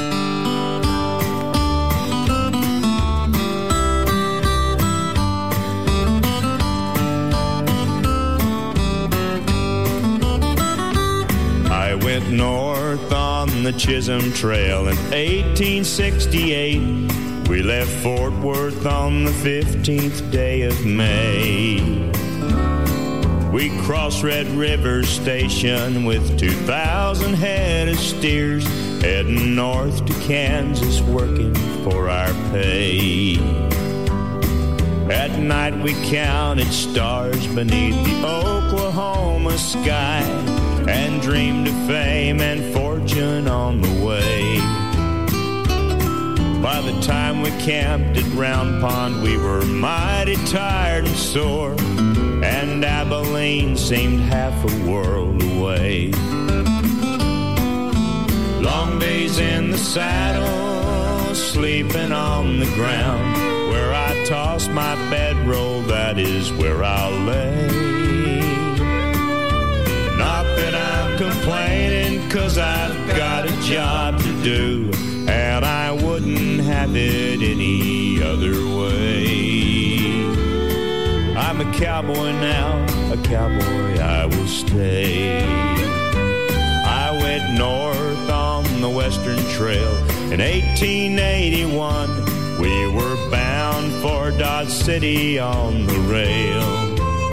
I went north on the Chisholm Trail in eighteen sixty-eight. We left Fort Worth on the fifteenth day of May. We crossed Red River Station with two thousand head of steers, heading north to Kansas, working for our pay. At night we counted stars beneath the Oklahoma sky and dreamed of fame and fortune on the way. By the time we camped at Round Pond, we were mighty tired and sore, and Abilene seemed half a world away. Long days in the saddle, sleeping on the ground, where I toss my bedroll, that is where I'll lay. Not that I'm complaining, 'cause I've got a job to do, and I wouldn't have it any other way. I'm a cowboy now, a cowboy I will stay. I went north on the Western Trail in eighteen eighty-one. We were bound for Dodge City on the rail.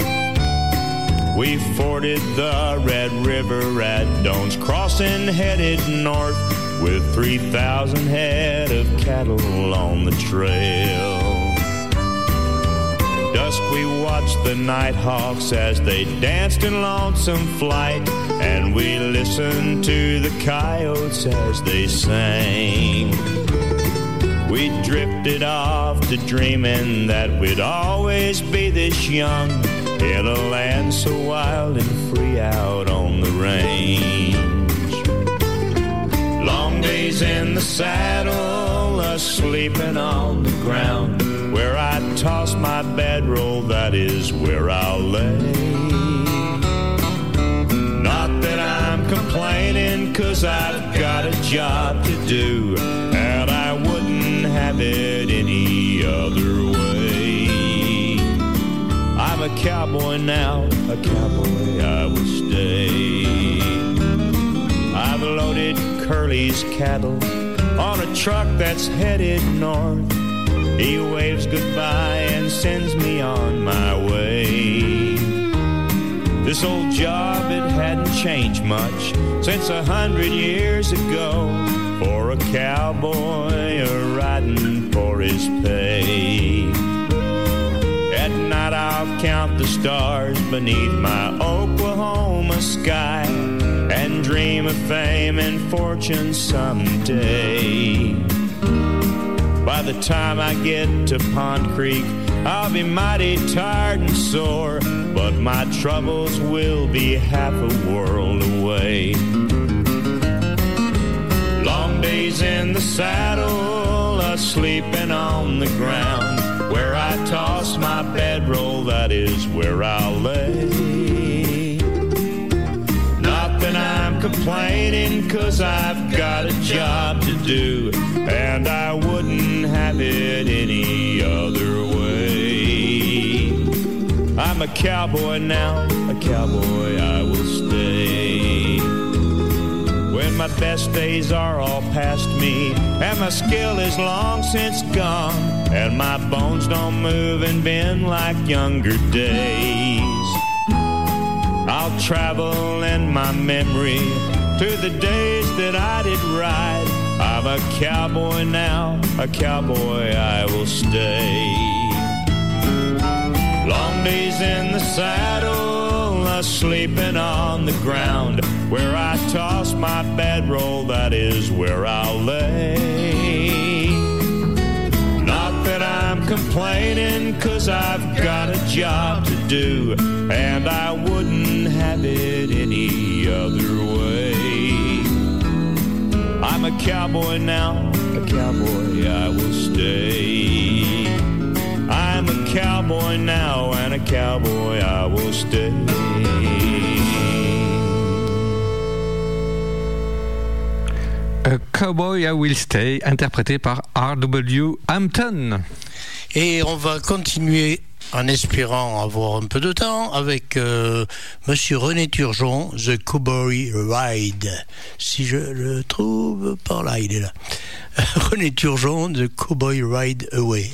We forded the Red River at Doan's Crossing, headed north with three thousand head of cattle on the trail. Dusk we watched the nighthawks as they danced in lonesome flight, and we listened to the coyotes as they sang. We drifted off to dreaming that we'd always be this young, in a land so wild and free out on the range. Long days in the saddle, sleeping on the ground, where I toss my bedroll, that is where I'll lay. Not that I'm complaining, 'cause I've got a job to do, and I wouldn't have it any other way. I'm a cowboy now, a cowboy I will stay. I've loaded Curly's cattle on a truck that's headed north. He waves goodbye and sends me on my way. This old job, it hadn't changed much since a hundred years ago, for a cowboy a riding for his pay. At night I'll count the stars beneath my Oklahoma sky and dream of fame and fortune someday. By the time I get to Pond Creek, I'll be mighty tired and sore, but my troubles will be half a world away. Long days in the saddle, sleeping on the ground, where I toss my bedroll, that is where I'll lay. Not that I'm complaining, 'cause I've got a job to do, and I wouldn't have it any other way. I'm a cowboy now, a cowboy I will stay. And my best days are all past me, and my skill is long since gone, and my bones don't move and bend like younger days. I'll travel in my memory to the days that I did ride. I'm a cowboy now, a cowboy I will stay. Long days in the saddle, uh, sleeping on the ground. Where I toss my bedroll, that is where I'll lay. Not that I'm complaining, 'cause I've got a job to do, and I wouldn't have it any other way. I'm a cowboy now, a cowboy I will stay. I'm a cowboy now, and a cowboy I will stay. A Cowboy I Will Stay, interprété par R W Hampton. Et on va continuer en espérant avoir un peu de temps avec euh, Monsieur René Turgeon, The Cowboy Ride. Si je le trouve par là, il est là. René Turgeon, The Cowboy Ride Away.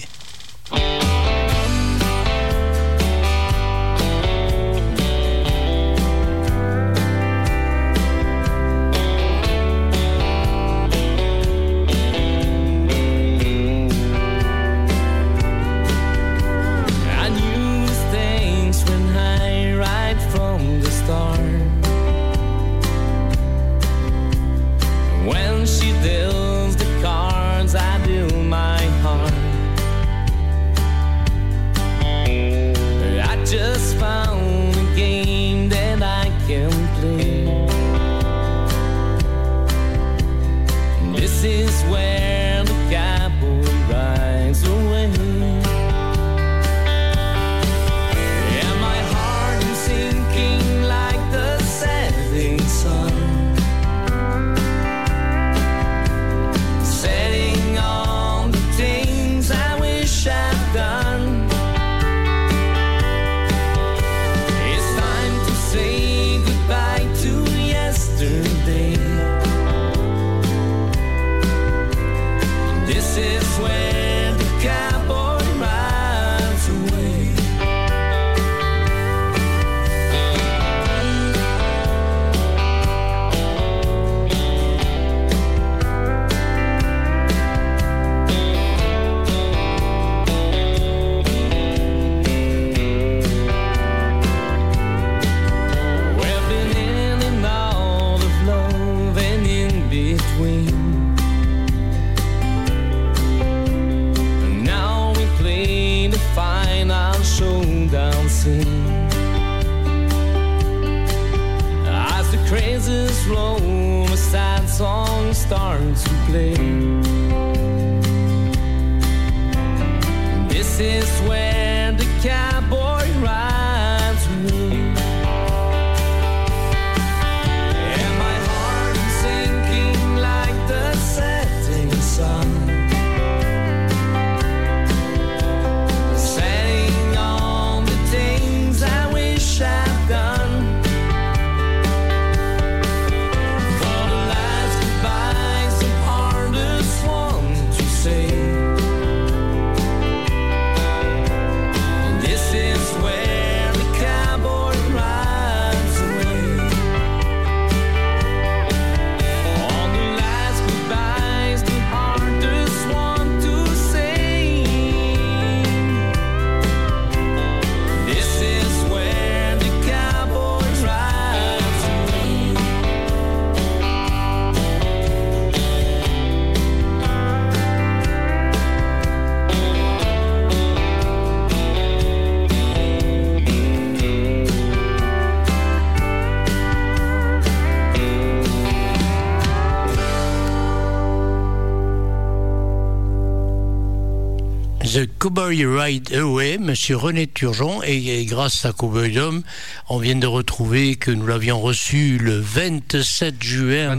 The Cowboy Ride Away, Monsieur René Turgeon, et, et grâce à Cowboy Dome, on vient de retrouver que nous l'avions reçu le vingt-sept juin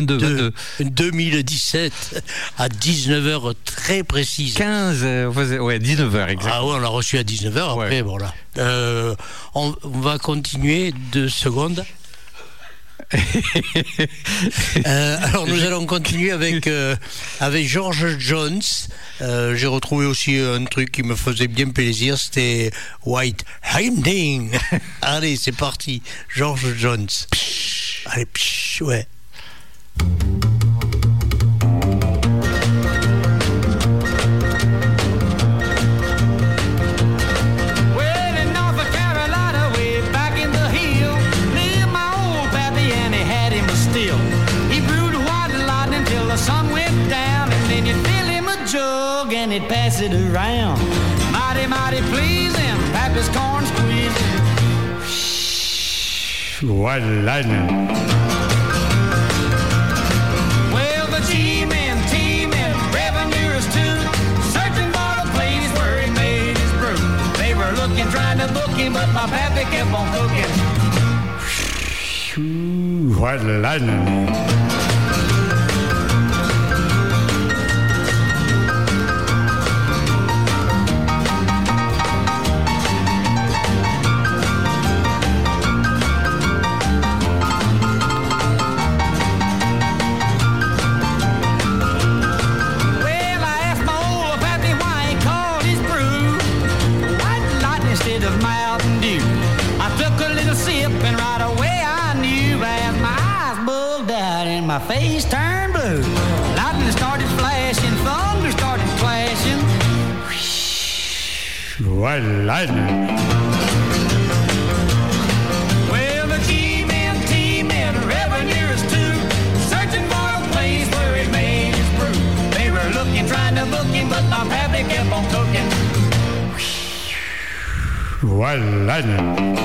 deux mille dix-sept à dix-neuf heures très précises. quinze, euh, ouais, dix-neuf heures exactement. Ah ouais, on l'a reçu à dix-neuf heures, après, ouais. Voilà. Euh, on, on va continuer deux secondes. euh, alors nous allons continuer avec euh, avec George Jones. Euh, j'ai retrouvé aussi un truc qui me faisait bien plaisir, c'était White Hinding. Allez, c'est parti, George Jones. Psh, allez, psh, ouais. And he'd pass it around. Mighty, mighty pleasing, Pappy's corn squeezing. White lightning. Well, the G-men, T-men, revenuers too, searching for the place where he made his brew. They were looking, trying to book him, but my Pappy kept on cooking. White lightning. My face turned blue. Lightning started flashing, thunder started clashing. White lightning. Well, the G-men, T-men, revenuers too, searching for a place where he made his brew. They were looking, trying to book him, but my Pappy kept on cooking. White lightning.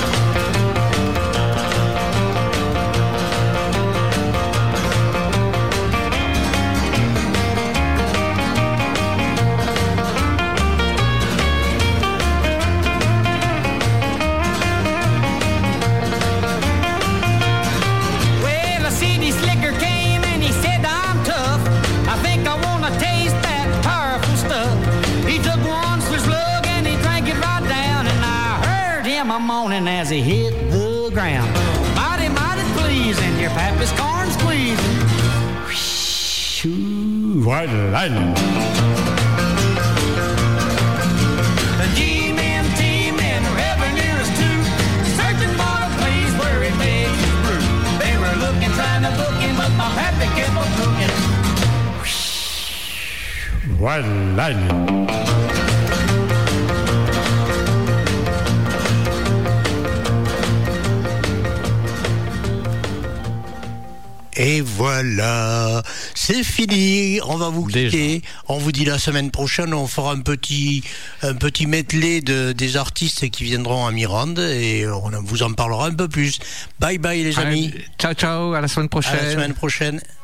Morning as he hit the ground. Mighty, mighty pleasing, your Pappy's corn squeezing. White lightning. The G-men, T-men, revenuers too, searching for a place where he made his brew. They were looking, trying to book him, but my Pappy kept on cooking. White lightning. Et voilà, c'est fini, on va vous quitter. Déjà. On vous dit la semaine prochaine, on fera un petit, un petit medley de, des artistes qui viendront à Mirande et on vous en parlera un peu plus. Bye bye les amis. Allez, ciao ciao, à la semaine prochaine. À la semaine prochaine.